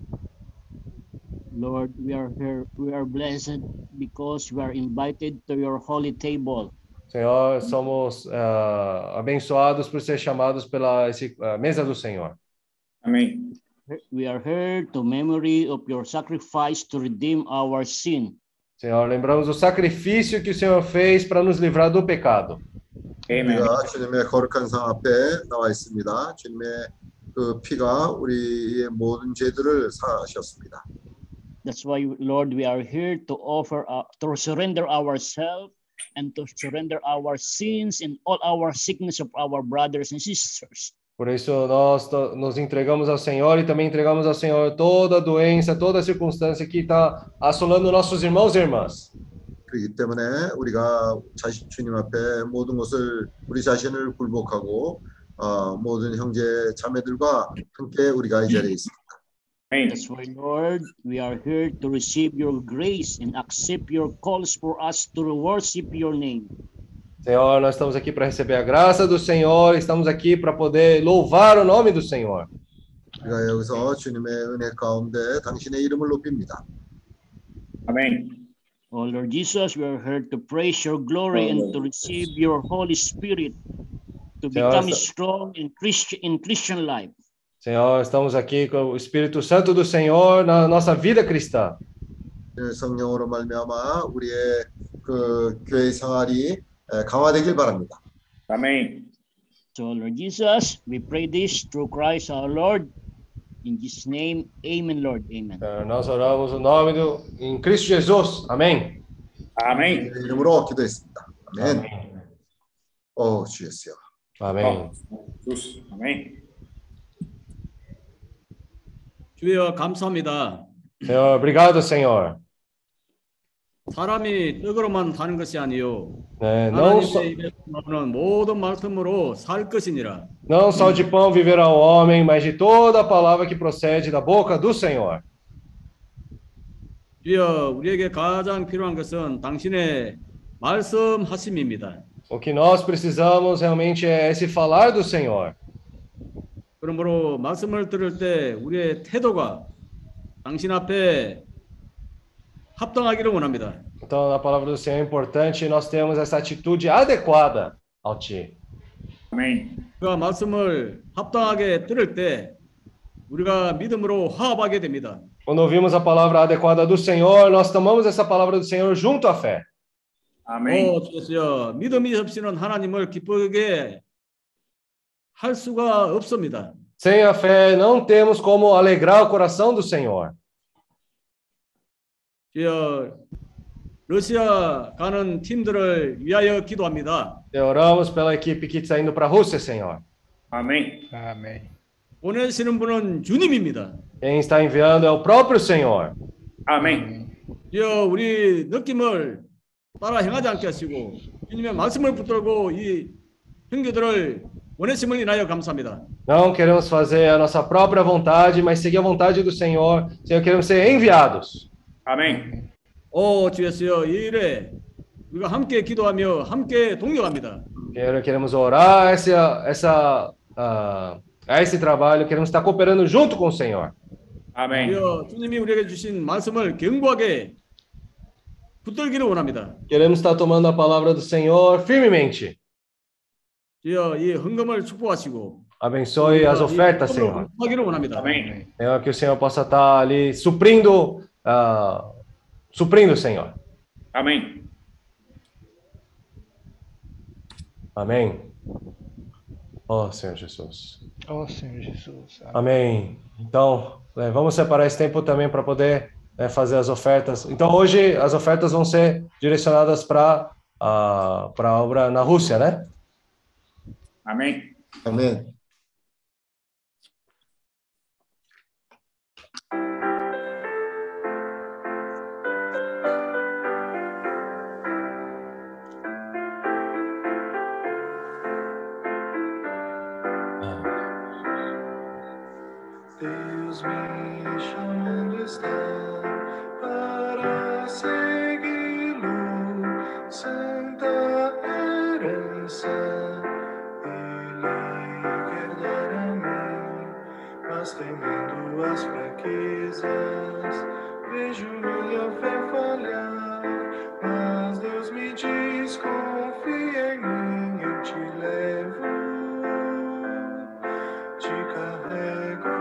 Lord, we are here. We are blessed because we are invited to your holy table. Senhor, somos abençoados por ser chamados pela mesa do Senhor. Amém. We are here to memory of your sacrifice to redeem our sin. Senhor, lembramos o sacrifício que o Senhor fez para nos livrar do pecado. Amen. 우리가 주님의 거룩한 상 앞에 나와 있습니다. 주님의 그 피가 우리의 모든 죄들을 사하셨습니다. That's why, Lord, we are here to offer, to surrender ourselves and to surrender our sins and all our sickness of our brothers and sisters. Por isso, nós nos entregamos ao Senhor e também entregamos ao Senhor toda doença, toda circunstância que está assolando nossos irmãos e irmãs. 그렇기 때문에 우리가 주님 앞에 모든 것을 우리 자신을 굴복하고 모든 형제 자매들과 함께 우리가 이 자리에 있습니다. That's why, Lord, we are here to receive your grace and accept your calls for us to worship your name. Senhor, nós estamos aqui para receber a graça do Senhor, estamos aqui para poder louvar o nome do Senhor. 우리가 여기서 주님의 은혜 가운데 당신의 이름을 높입니다. Amém. Oh Lord Jesus, we are here to praise your glory and to receive your Holy Spirit to become strong in Christian life. Senhor, estamos aqui com o Espírito Santo do Senhor na nossa vida cristã. 성령으로 말미암아 우리의 그 교회 생활이 강화되길 바랍니다. Amém. So Lord Jesus, we pray this through Christ our Lord. In Jesus' name, amen, Lord, amen. Nós oramos o nome em Cristo Jesus. Amém. Amém. 이름으로 기도했습니다. 아멘. 주 예수여. 아멘. Jesus. Amém. 주여 감사합니다. Senhor, obrigado, Senhor. 사람이 떡으로만 사는 것이 아니요 Não 하나님의 입에서 나오는 모든 말씀으로 살 것이니라. só de pão viverá o homem, mas de toda a palavra que procede da boca do Senhor. 주여 우리에게 가장 필요한 것은 당신의 말씀하심입니다. O que nós precisamos realmente é esse falar do Senhor. 그러므로 말씀을 들을 때 우리의 태도가 당신 앞에 합당하기를 원합니다. Então, a palavra do Senhor é importante e nós temos essa atitude adequada ao Ti. Amém. 우리가 말씀을 합당하게 들을 때 우리가 믿음으로 화합하게 됩니다. Quando ouvimos a palavra adequada do Senhor, nós tomamos essa palavra do Senhor junto à fé. Amém. 주여, 믿음이 없이는 하나님을 기쁘게 할 수가 없습니다. Sem a fé, não temos como alegrar o coração do Senhor. 주여, 러시아 가는 팀들을 위하여 기도합니다. Oramos pela equipe que está indo para a Rússia, Senhor. Amém. Amém. 보내시는 분은 주님입니다. Quem está enviando é o próprio Senhor. Amém. 주여, 우리 느낌을 따라 행하지 않게 하시고 주님의 말씀을 붙들고 이 형제들을 보내심을 인하여 감사합니다. Não queremos fazer a nossa própria vontade, mas seguir a vontade do Senhor. Senhor, queremos ser enviados. Amém. 주 예수여, 이 일에 우리가 함께 기도하며 함께 동력합니다. Queremos orar a esse trabalho, queremos estar cooperando junto com o Senhor. Amém. 주여, 주님이 우리에게 주신 말씀을 견고하게 붙들기를 원합니다. Queremos estar tomando a palavra do Senhor firmemente. 주여 이 헌금을 축복하시고 Abençoe as ofertas, Senhor. 하기를 원합니다. Amém. Senhor, que o Senhor possa estar ali suprindo, Senhor. Amém. Amém. Oh, Senhor Jesus. Ó Senhor Jesus. Amém. Então, vamos separar esse tempo também para poder fazer as ofertas. Então, hoje as ofertas vão ser direcionadas para a obra na Rússia, né? Amém. 아멘. Deus me chamando está para segui-lo, santa herança Ele quer dar a mim, mas temendo as fraquezas, vejo minha fé falhar, mas Deus me diz, confia em mim, eu te levo, te carrego.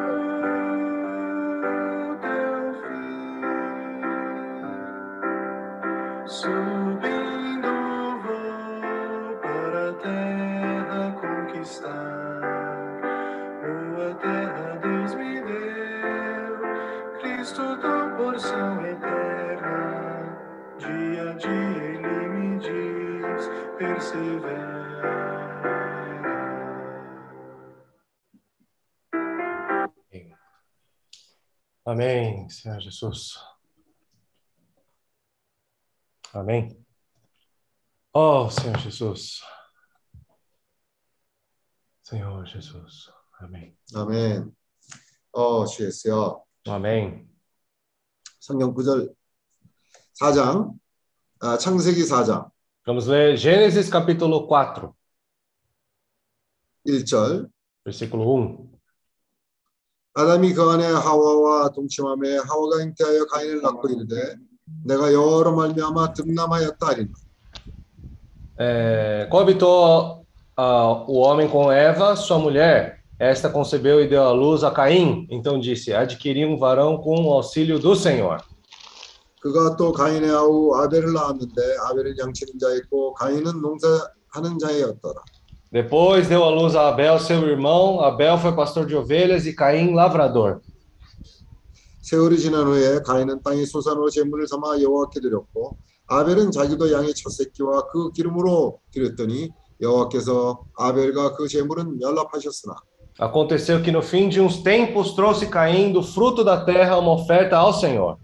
Subindo vou para a terra conquistar, boa terra Deus me deu, Cristo dá porção eterna, dia a dia Ele me diz, persevera. Amém, Senhor Jesus. Amém. Oh, Senhor Jesus. Senhor Jesus. Amém. 아멘. 주였어요. Amém. 성경 구절 4장, 창세기 4장 Vamos ler Gênesis capítulo 4, 1절. versículo 1. 아담이 그 안에 하와와 동침함에 하와가 잉태하여 가인을 낳고 이르되 내가 여호와로 말미암아 득남하였다 하리라. Coabitou o homem com Eva, sua mulher. Esta concebeu e deu à luz a Caim. Então disse: adquiri um varão com o auxílio do Senhor. 그가 또 가인의 아우 아벨을 낳았는데 아벨은 양치는 자였고 가인은 농사하는 자였더라. Depois deu à luz a Abel, seu irmão. Abel foi pastor de ovelhas e Caim lavrador. 세월이 지난 후에 가인은 땅의 소산으로 제물을 삼아 여호와께 드렸고 아벨은 자기도 양의 첫 새끼와 그 기름으로 드렸더니 여호와께서 아벨과 그 제물은 연락하셨으나 Aconteceu que no fim de uns tempos trouxe Caim do fruto da terra uma oferta ao Senhor.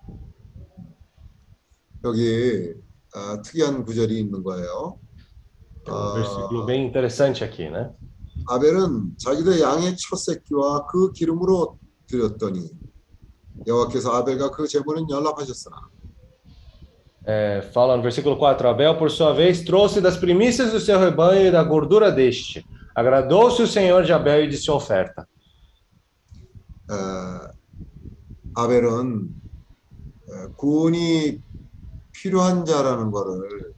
여기 특이한 구절이 있는 거예요. Um versículo bem interessante aqui, né? 아벨은 자기도 양의 첫 새끼와 그 기름으로 드렸더니 여호와께서 아벨과 그 제물은 연락하셨으나 Fala no versículo 4, Abel, por sua vez, trouxe das primícias do seu rebanho e da gordura deste. Agradou-se o Senhor de Abel e de sua oferta. 아벨은 구원이 필요한 자라는 거를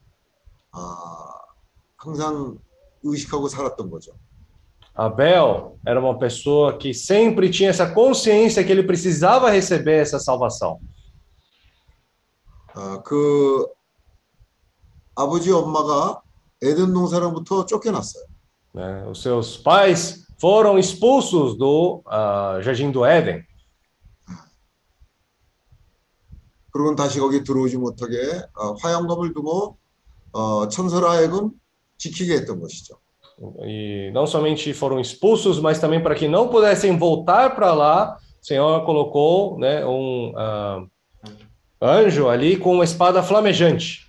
항상 의식하고 살았던 거죠. Abel era uma pessoa que sempre tinha essa consciência que ele precisava receber essa salvação. 그 아버지 엄마가 에덴 동산으로부터 쫓겨났어요. Os seus pais foram expulsos do Jardim do Éden. 그리고는 다시 거기 들어오지 못하게 화양검을 두고 천사로 하여금 지키게 했던 것이죠. E não somente foram expulsos, mas também para que não pudessem voltar para lá, o Senhor colocou, né, anjo ali com uma espada flamejante.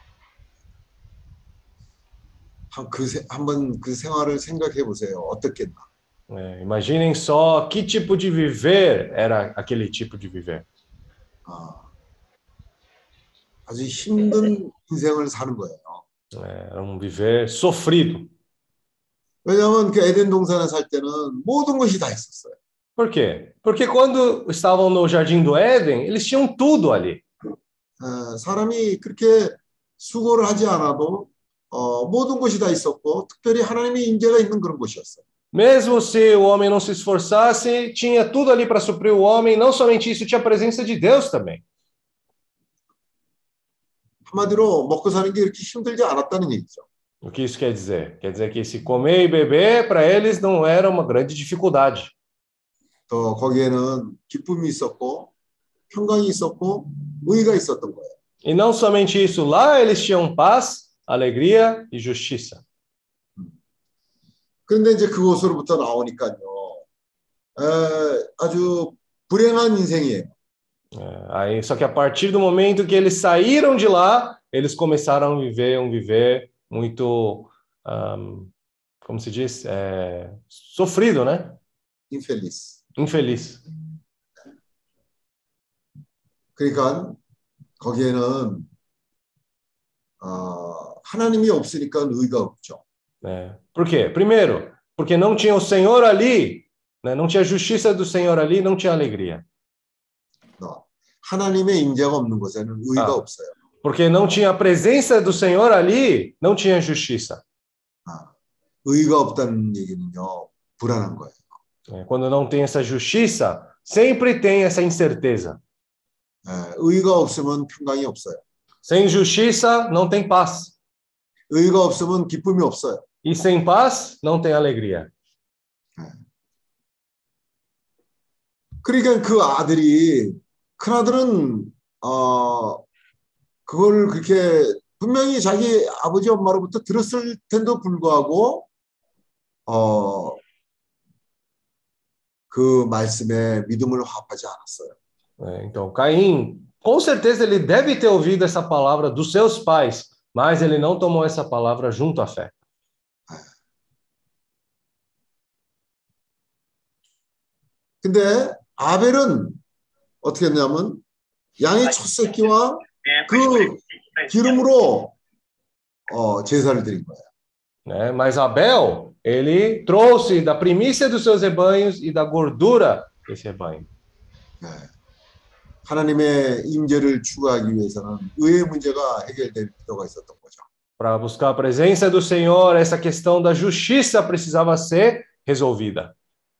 한번 그 생활을 생각해 보세요. 어떻겠나? Imaginem só que tipo de viver era aquele tipo de viver. 아주 힘든 인생을 사는 거예요. Era um viver sofrido. 왜냐하면 그 에덴 동산에 살 때는 모든 것이 다 있었어요. Por quê? Porque quando estavam no Jardim do Éden, eles tinham tudo ali. 사람이 그렇게 수고를 하지 않아도 모든 것이 다 있었고 특별히 하나님의 임재가 있는 그런 곳이었어요. Mesmo se o homem não se esforçasse, tinha tudo ali para suprir o homem. Não somente isso, tinha a presença de Deus também. 한마디로 먹고 사는 게 이렇게 힘들지 않았다는 얘기죠. O que isso quer dizer? Quer dizer que se comer e beber, para eles não era uma grande dificuldade. 또 거기에는 기쁨이 있었고 평강이 있었고 의가 있었던 거예요. E não somente isso, lá eles tinham paz, alegria e justiça. 그런데 이제 그곳으로부터 나오니까요. 아주 불행한 인생이에요. Aí, só que a partir do momento que eles saíram de lá, eles começaram a viver um viver muito, como se diz, sofrido, né? Infeliz. Infeliz. 그러니까 거기에는 하나님이 없으니까 의가 없죠. Por quê? Primeiro, porque não tinha o Senhor ali, né? Não tinha a justiça do Senhor ali, não tinha alegria. 하나님의 임재가 없는 곳에는 의가 없어요. Porque não tinha a presença do Senhor ali, não tinha justiça. 의가 없다는 얘기는요, 불안한 거예요. Quando não tem essa justiça, sempre tem essa incerteza. 의가 없으면 평강이 없어요. Sem justiça, não tem paz. 의가 없으면 기쁨이 없어요. E sem paz, não tem alegria. 그러니까 그 아들이 큰아들은 그걸 그렇게 분명히 자기 아버지 엄마로부터 들었을 텐데도 불구하고 그 말씀에 믿음을 화합하지 않았어요. Então, Caim, com certeza ele deve ter ouvido essa palavra dos seus pais, mas ele não tomou essa palavra junto à fé. 근데 아벨은 어떻게 했냐면 양의 첫 새끼와 그 기름으로 제사를 드린 거예요. Mas Abel, ele trouxe da primícia dos seus rebanhos e da gordura desse rebanho. 하나님의 임재를 추구하기 위해서는 의의 문제가 해결될 필요가 있었던 거죠. Para buscar a presença do Senhor, essa questão da justiça precisava ser resolvida.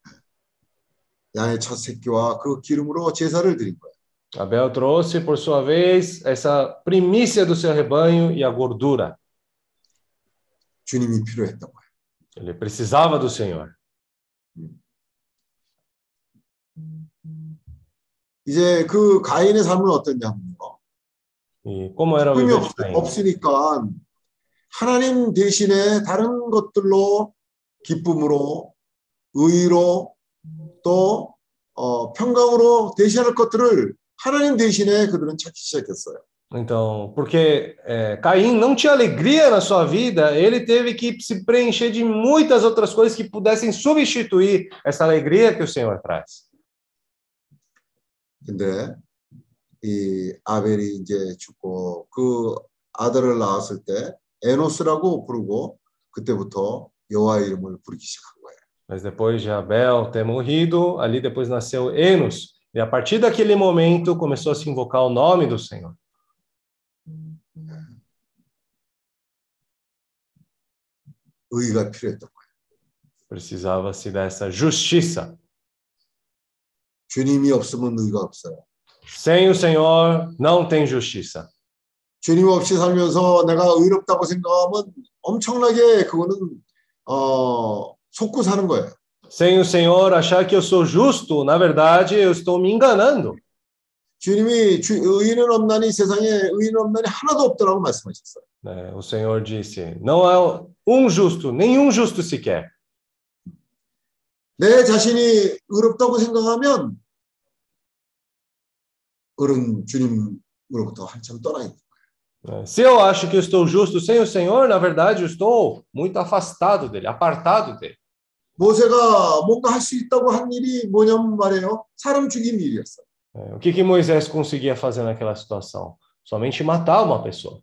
양의 첫 새끼와 그 기름으로 제사를 드린 거예요. Abel trouxe, por sua vez, essa primícia do seu rebanho e a gordura. 주님이 필요했던 거예요. Ele precisava do Senhor. 이제 그 가인의 삶은 어떠냐면요. E como era o viver de Caim? 없으니까 하나님 대신에 다른 것들로 기쁨으로 의로 또 평강으로 대신할 것들을 하나님 대신에 그들은 찾기 시작했어요. Então, porque Caim não tinha alegria na sua vida, ele teve que se preencher de muitas outras coisas que pudessem substituir essa alegria que o Senhor traz. 근데 이 아벨이 이제 죽고 그 아들을 낳았을 때 에노스라고 부르고 그때부터 여호와의 이름을 부르기 시작한 거예요. Mas depois de Abel ter morrido, ali depois nasceu Enos. E a partir daquele momento começou a se invocar o nome do Senhor. 의가 필요했던 거예요. Precisava-se dessa justiça. 주님이 없으면 의가 없어요. Sem o Senhor não tem justiça. 주님 없이 살면서 내가 의롭다고 생각하면 엄청나게 그거는 속고 사는 거예요. Sem o Senhor achar que eu sou justo, na verdade eu estou me enganando. 주님이 의인은 없나니 세상에 의인 없나니 하나도 없더라고 말씀하셨어요. O Senhor disse, não há um justo, nenhum justo sequer. 내 자신이 의롭다고 생각하면 어른 주님으로부터 한참 떠나 있는 거예요. Se eu acho que eu estou justo sem o Senhor, na verdade eu estou muito afastado dele, apartado dele. 모세가 뭔가 할 수 있다고 한 일이 뭐냐면 말이에요. 사람 죽인 일이었어요. O que Moisés conseguia fazer naquela situação? Somente matar uma pessoa.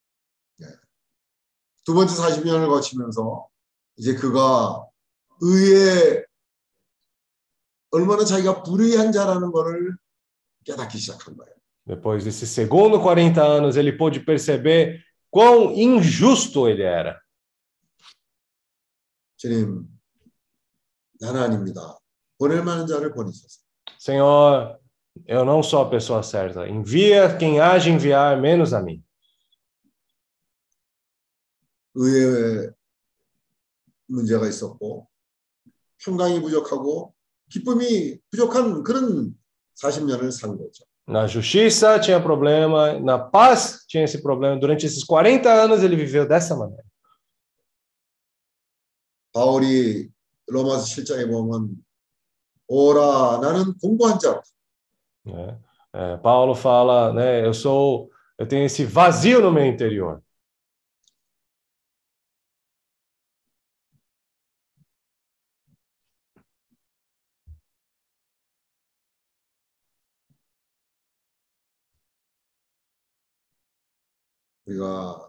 두 번째 40년을 거치면서 이제 그가 의에 얼마나 자기가 불의한 자라는 것을 깨닫기 시작한 거예요. Depois desses segundo 40 anos, ele pôde perceber quão injusto ele era. 주님, 나는 아닙니다. 보낼 만한 자를 보내소서. Senhor, eu não sou a pessoa certa. Envia quem há de enviar, menos a mim. 의외의 문제가 있었고 평강이 부족하고 기쁨이 부족한 그런 40년을 산 거죠. Na justiça tinha problema, na paz tinha esse problema. Durante esses 40 anos ele viveu dessa maneira. 바울이 로마서 7장에 보면 오라 나는 공고한 자라. Paulo fala, né, eu tenho esse vazio no meu interior. 우리가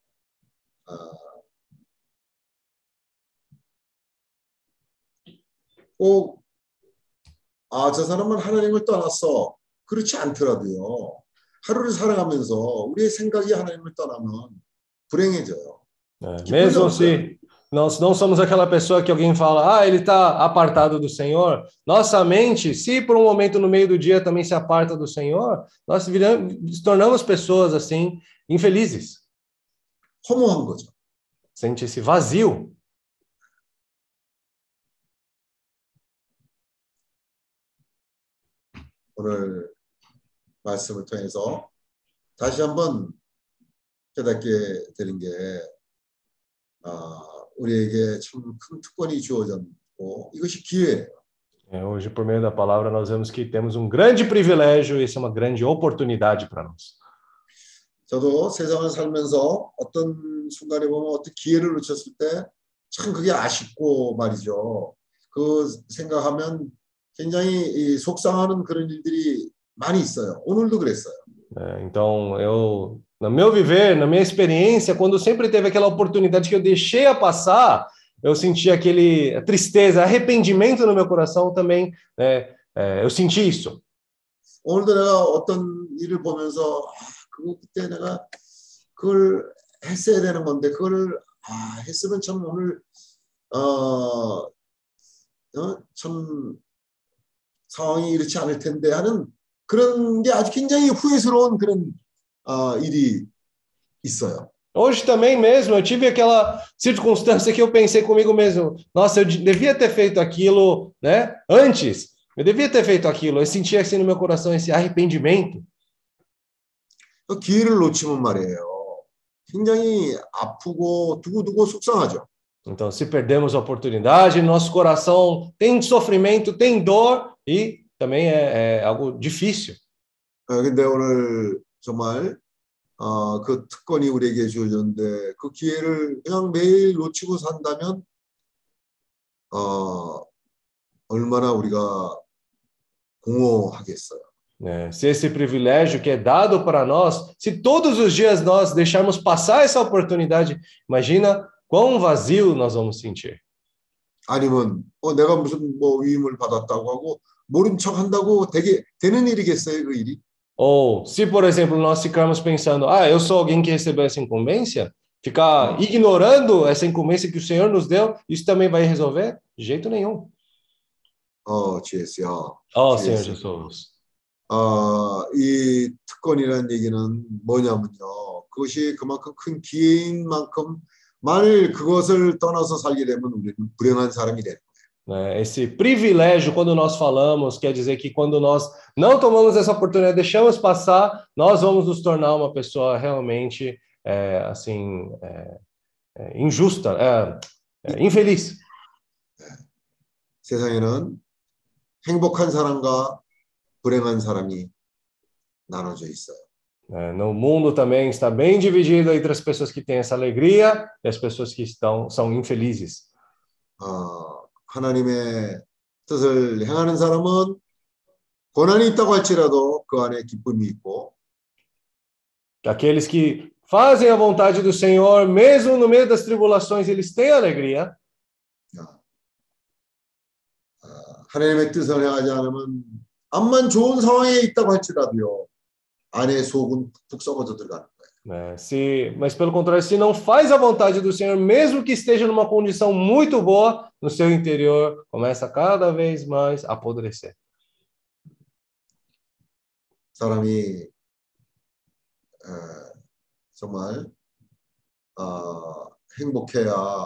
꼭 저 사람은 하나님을 떠났어. 그렇지 않더라도요. 하루를 살아가면서 우리의 생각이 하나님을 떠나면 불행해져요. Mesmo se nós não somos aquela pessoa que alguém fala, ele está apartado do Senhor, nossa mente, se por um momento no meio do dia também se aparta do Senhor, nós nos tornamos pessoas assim, infelizes. 허무한 거죠. Sente esse vazio. 오늘 말씀을 통해서 다시 한번 깨닫게 되는 게 우리에게 참 큰 특권이 주어졌고 이것이 기회예요. Hoje, por meio da palavra, nós vemos que temos um grande privilégio e isso é uma grande oportunidade para nós. 저도 세상을 살면서 어떤 순간에 보면 어떤 기회를 놓쳤을 때 참 그게 아쉽고 말이죠. 그 생각하면 굉장히 속상하는 그런 일들이 많이 있어요. 오늘도 그랬어요. Então, no meu viver, na minha experiência, quando sempre teve aquela oportunidade que eu deixei a passar, eu senti a tristeza, arrependimento no meu coração também, né? Eu senti isso. 오늘도 내가 어떤 일을 보면서 그때 내가 그걸 했어야 되는 건데 그걸 했으면 참 오늘 참 상황이 이렇지 않을 텐데 하는 그런 게 아주 굉장히 후회스러운 그런 일이 있어요. Hoje também mesmo, eu tive aquela circunstância que eu pensei comigo mesmo, nossa, eu devia ter feito aquilo, né? Antes, eu devia ter feito aquilo. Eu senti assim no meu coração esse arrependimento. 기회를 놓치면 말이에요. 굉장히 아프고 두고두고 속상하죠. Então, se perdemos a oportunidade, nosso coração tem sofrimento, tem dor e também é algo difícil. 근데 오늘 정말 그 특권이 우리에게 주어졌는데 그 기회를 그냥 매일 놓치고 산다면 얼마나 우리가 공허하겠어요. Se esse privilégio que é dado para nós, se todos os dias nós deixarmos passar essa oportunidade, imagina quão vazio nós vamos sentir. 아니면 내가 무슨 위임을 받았다고 하고 모른 척 한다고 되는 일이겠어요, 그 일이? Ou se, por exemplo, nós ficarmos pensando, eu sou alguém que recebeu essa incumbência, ficar ignorando essa incumbência que o Senhor nos deu, isso também vai resolver? De jeito nenhum. GS야. Senhor Jesus. 이 특권이라는 얘기는 뭐냐면요. 그것이 그만큼 큰 기회인 만큼 만일 그것을 떠나서 살게 되면 우리는 불행한 사람이 되는 거예요. Esse privilégio, quando nós falamos, quer dizer que quando nós não tomamos essa oportunidade, deixamos passar, nós vamos nos tornar uma pessoa realmente injusta, infeliz. 세상에는 행복한 사람과 불행한 사람이 나눠져 있어요. No mundo também está bem dividido entre as pessoas que têm essa alegria e as pessoas que são infelizes. 하나님의 뜻을 행하는 사람은 고난이 있다고 할지라도 그 안에 기쁨이 있고 Aqueles que fazem a vontade do Senhor, mesmo no meio das tribulações, eles têm alegria. 하나님의 뜻을 행하지 않으면 암만 좋은 상황에 있다고 할지라도요. 안에 속은 푹 썩어져 들어가는 거예요. Mas pelo contrário, se não faz a vontade do Senhor, mesmo que esteja numa condição muito boa, no seu interior começa cada vez mais a apodrecer. 사람이 정말 행복해야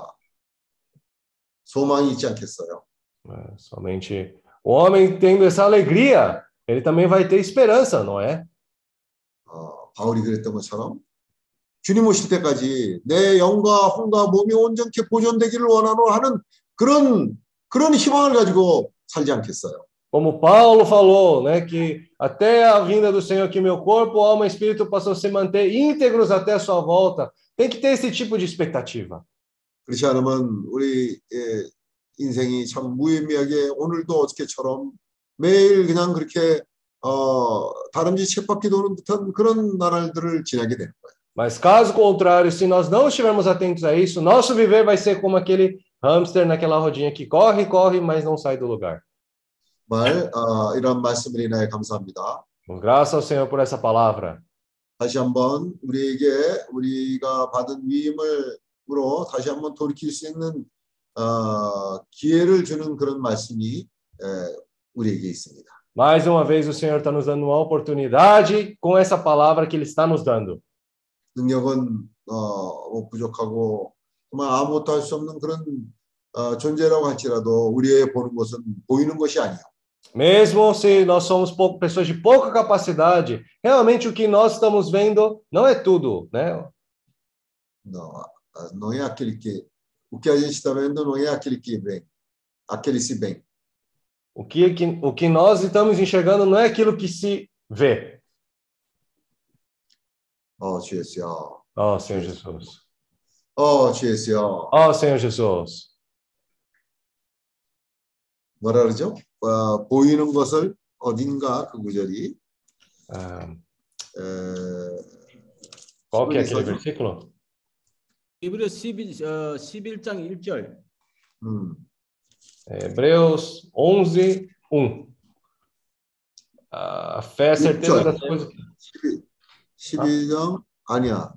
소망이 있지 않겠어요? Somente o homem tendo essa alegria, ele também vai ter esperança, não é? 바울이 그랬던 것처럼 주님 오실 때까지 내 영과 혼과 몸이 온전케 보존되기를 원하노 하는 그런 희망을 가지고 살지 않겠어요? Como Paulo falou, né, que até a vinda do Senhor, que meu corpo, alma e espírito possam se manter íntegros até a sua volta. Tem que ter esse tipo de expectativa. 그렇지 않으면 우리 인생이 참 무의미하게 오늘도 어저께처럼 매일 그냥 그렇게 다람쥐 쳇바퀴 도는 듯한 그런 나날들을 지나게 되는 거예요. Mas caso contrário, se nós não estivermos atentos a isso, nosso viver vai ser como aquele hamster naquela rodinha que corre, corre, mas não sai do lugar. 이런 말씀을 인하여 감사합니다. Graças ao Senhor por essa palavra. 다시 한번 우리가 받은 위임으로 다시 한번 돌이킬 수 있는 기회를 주는 그런 말씀이 우리에게 있습니다. Mais uma vez o Senhor está nos dando uma oportunidade com essa palavra que Ele está nos dando. 능력은 부족하고 정말 아무것도 할 수 없는 그런 존재라고 할지라도 우리의 보는 것은 보이는 것이 아니에요. Mesmo se nós somos pessoas de pouca capacidade, realmente o que nós estamos vendo não é tudo, né? Não é aquele que o que a gente está vendo não é aquele que vem, aquele se vem. O que nós estamos enxergando não é aquilo que se vê. 주 예수여. Senhor Jesus. 주 예수여. Senhor Jesus. 뭐라 그러죠? 보이는 것을 어딘가 그 구절이 Qual que é aquele versículo? Hebreus 11장 1절. Hebreus 11, 1. A fé é a certeza das coisas. 12장 아니야.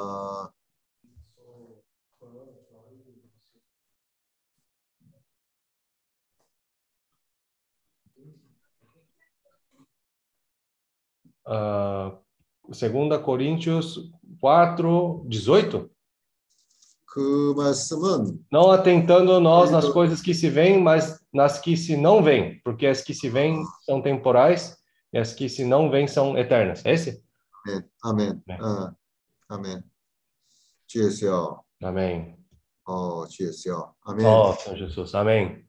Segunda Coríntios 4, 18. 그 말씀은 não atentando nós nas coisas que se veem, mas nas que se não veem, porque as que se veem são temporais e as que se não veem são eternas. Esse? 아멘. 아멘. 주 예수여. Amém. 주 예수여. 아멘. Senhor Jesus. Amém.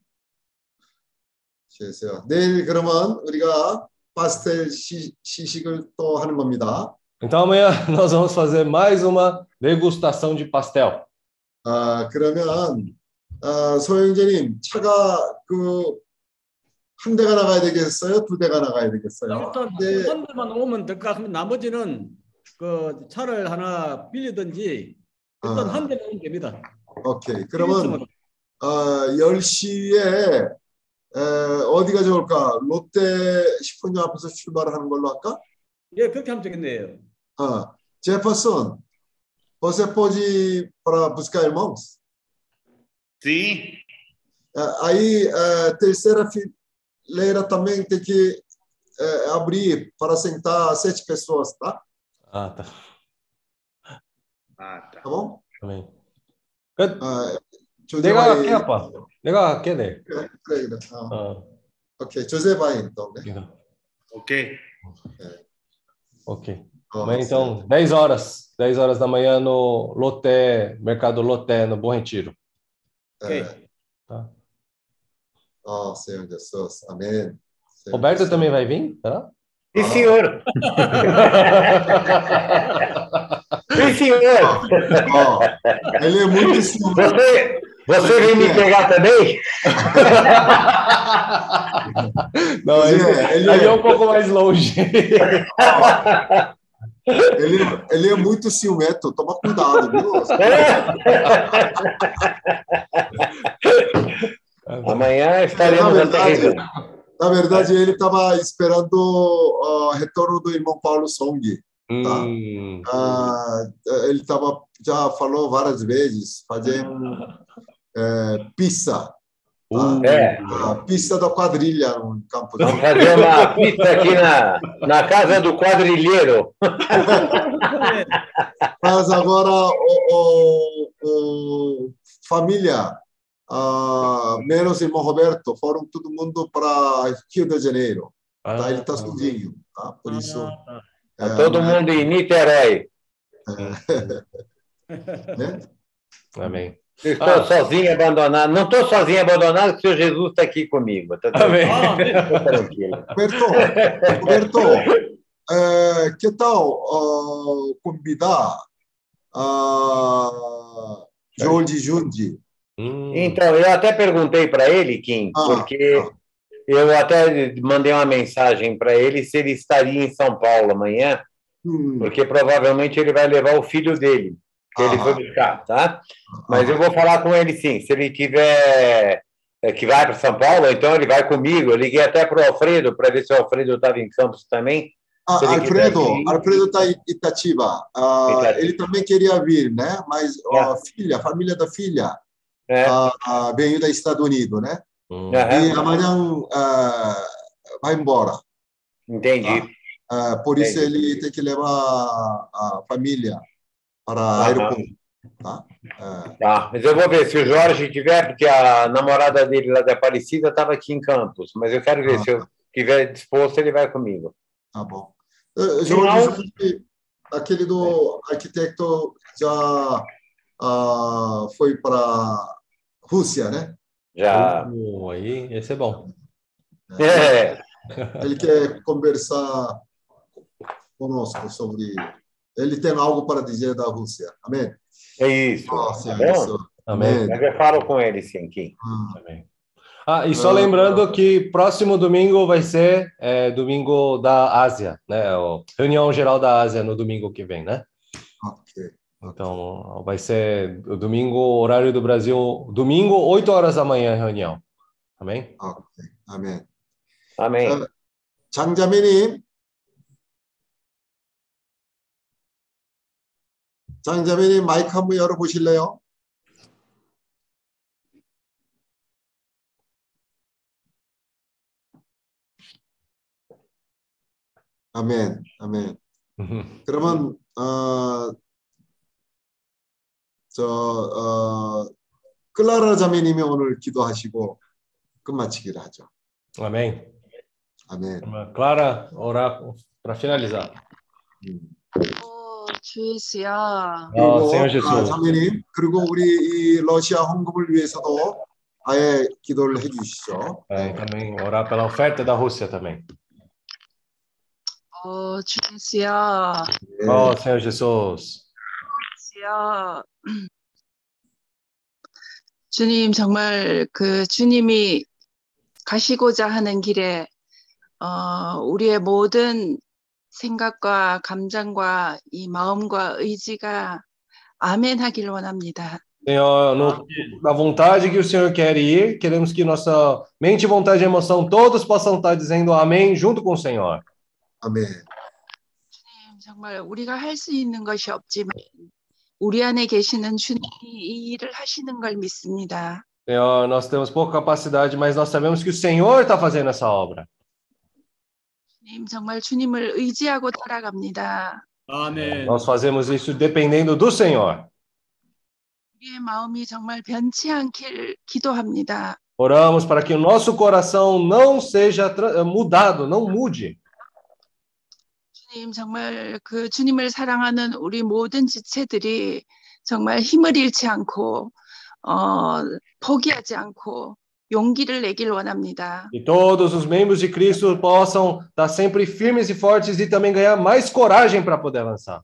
주 예수여. 내일 그러면 우리가 파스텔 시식을 또 하는 겁니다. Então amanhã nós vamos fazer mais uma degustação de pastel. 그러면 소영재님 차가 한 대가 나가야 되겠어요? 두 대가 나가야 되겠어요? 일단 한 대만 오면 될 것 같으면 나머지는 그 차를 하나 빌리든지 일단 한 대만 오면 됩니다. 오케이. 그러면 10시에 어디가 좋을까? 롯데 식품점 앞에서 출발을 하는 걸로 할까? 예, k렇게 ha면 되겠네요. Jefferson, você pode ir para buscar irmãos? Sim. Aí, terceira fileira também tem que abrir para sentar 7 pessoas, tá? Tá. Tá bom? Amém. 내가 할게, 아빠. 내가 할게, 네. 그래. 오케이, 조셉 vai então, né? Ok. Ok. Amanhã, então, 10 horas da manhã no Loté, Mercado Loté, no Bom Retiro. Ok. Tá. Senhor Jesus. Amém. Roberto também vai vir? Tá? Sim, senhor. Sim, senhor. Ele é muito ciumento. Você vem me pegar também? Não, ele é um pouco mais longe. Ele é muito ciumento, toma cuidado, viu? Amanhã estaremos na Na verdade, ele estava esperando o retorno do irmão Paulo Song. Tá? Ele já falou várias vezes, fazer pizza. Tá? Pista da quadrilha no campo. Vamos fazer uma pista aqui na casa do quadrilheiro. Mas agora, família, menos irmão Roberto, foram todo mundo para Rio de Janeiro. Tá? Ele está sozinho. Tá? Por isso... todo mundo em Niterói. Né? Amém. Eu estou sozinho, abandonado. Não estou sozinho, abandonado, porque o Senhor Jesus está aqui comigo. Tá tranquilo. Roberto, que tal convidar Jorge Jundi? Então, eu até perguntei para ele, Kim, porque eu até mandei uma mensagem para ele se ele estaria em São Paulo amanhã, porque provavelmente ele vai levar o filho dele, que ele foi buscar, tá? Mas eu vou falar com ele sim. Se ele tiver que vai para São Paulo, então ele vai comigo. Eu liguei até para o Alfredo para ver se o Alfredo estava em Campos também. Alfredo está em Itatiba. Ele também queria vir, né? Mas a família da filha veio dos Estados Unidos, né? E amanhã vai embora. Entendi. Por isso ele tem que levar a família para o aeroporto. Tá, mas eu vou ver se o Jorge tiver, porque a namorada dele lá da Aparecida estava aqui em Campos, mas eu quero ver se eu estiver disposto, ele vai comigo. Tá bom. Jorge, aquele do arquiteto já foi para a Rússia, né? Já. Aí, esse é bom. Ele quer conversar conosco sobre... Ele tem algo para dizer da Rússia. Amém? É isso. Tá bom? Amém. Mas eu falo com ele, sim, Kim. Amém. E só lembrando que próximo domingo vai ser domingo da Ásia, né? Reunião geral da Ásia no domingo que vem, né? Ok. Então, vai ser o domingo, horário do Brasil, domingo, 8 horas da manhã, reunião. Amém? Ok. Amém. Amém. 장자매님. 장자매님 마이크 한번 열어보실래요? 아멘, 아멘. 그러면 클라라 자매님이 오늘 기도하시고 끝마치기를 하죠. Amém. 아멘. Clara, orar para finalizar. 주 예수야. 그리고 Senhor Jesus. 자매님, 그리고 우리 이 러시아 헌금을 위해서도 아예 기도를 해주시죠. Também orar pela oferta da Rússia também. 주 예수야. Senhor Jesus. 예수야. 주님 정말 그 주님이 가시고자 하는 길에 우리의 모든 생각과 감정과 이 마음과 의지가 아멘 하길 원합니다. Senhor, na vontade que o Senhor quer ir, queremos que nossa mente, vontade e emoção, todos possam estar dizendo amém junto com o Senhor. 아멘. 주님 정말 우리가 할 수 있는 것이 없지만 우리 안에 계시는 주님이 이 일을 하시는 걸 믿습니다. Senhor, nós temos pouca capacidade, mas nós sabemos que o Senhor está fazendo essa obra. 주님 정말 주님을 의지하고 따라갑니다. 아멘. Nós fazemos isso dependendo do Senhor. 우리의 마음이 정말 변치 않길 기도합니다. Oramos para que o nosso coração não seja mudado, não mude. 주님 정말 그 주님을 사랑하는 우리 모든 지체들이 정말 힘을 잃지 않고 포기하지 않고 용기를 내길 원합니다. E todos os membros de Cristo possam estar sempre firmes e fortes e também ganhar mais coragem para poder avançar.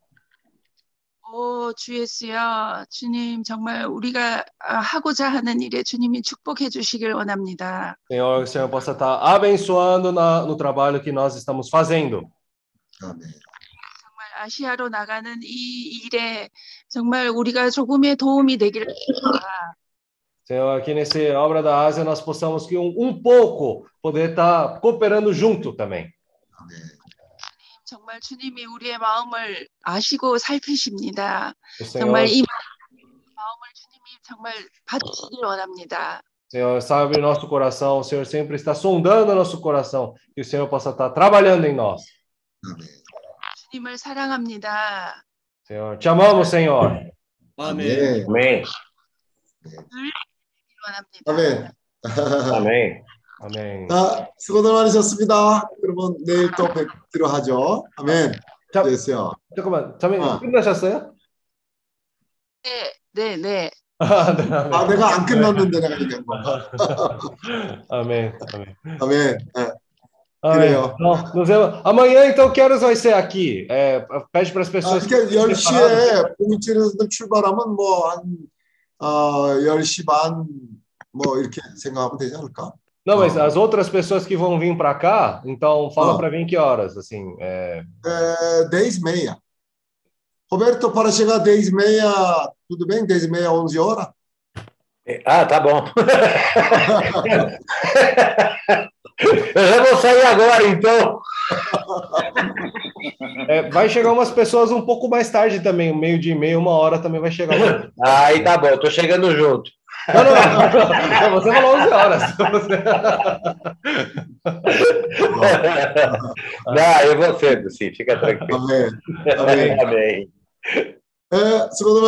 주 예수야, 주님 정말 우리가 하고자 하는 일에 주님이 축복해 주시길 원합니다. Senhor, que o Senhor possa estar abençoando no trabalho que nós estamos fazendo. 아멘. 정말 아시아로 나가는 이 일에 정말 우리가 조금의 도움이 되기를 바랍니다. Senhor, aqui nessa obra da Ásia nós possamos que um pouco poder estar cooperando junto também. 정말 주님이 우리의 마음을 아시고 살피십니다. O 정말 Senhor, 이 마음을 주님이 정말 받으시길 원합니다. Senhor sabe nosso coração, o Senhor sempre está sondando nosso coração, que o Senhor possa estar trabalhando em nós. 주님을 사랑합니다. Senhor, te amamos, Senhor. 아멘. Amém. 원합니다. 아멘. Amém. Amém. 자, 수고들 많으셨습니다. 그러면 내일 또 뵙기로 하죠. 아멘. 자, 됐어요. 잠깐만, 자매님 어. 끝나셨어요? 네. 아, 네, 아멘. 아, 내가 안 끝났는데 내가 얘기한 건가? Amém, amém. 아멘. 네. Amém. 그래요. Então, nos vemos. Amanhã, então, que horas vai ser aqui? Pede para as 아, pessoas. 이렇게 10시에 봉이치에서 출발하면 뭐 한 10시 반 뭐 이렇게 생각하면 되지 않을까? Não, mas as outras pessoas que vão vir para cá, então fala Ah. para vir que horas, assim. 10h30. Roberto, para chegar 10h30, tudo bem? 10h30, 11h? Ah, tá bom. Eu já vou sair agora, então. Vai chegar umas pessoas um pouco mais tarde também, 12h30, 1h também vai chegar. Aí tá bom, tô chegando junto. Não, você falou 11h. Não, eu vou cedo, sim, fica tranquilo. 아멘. 아멘. Amém. 수고들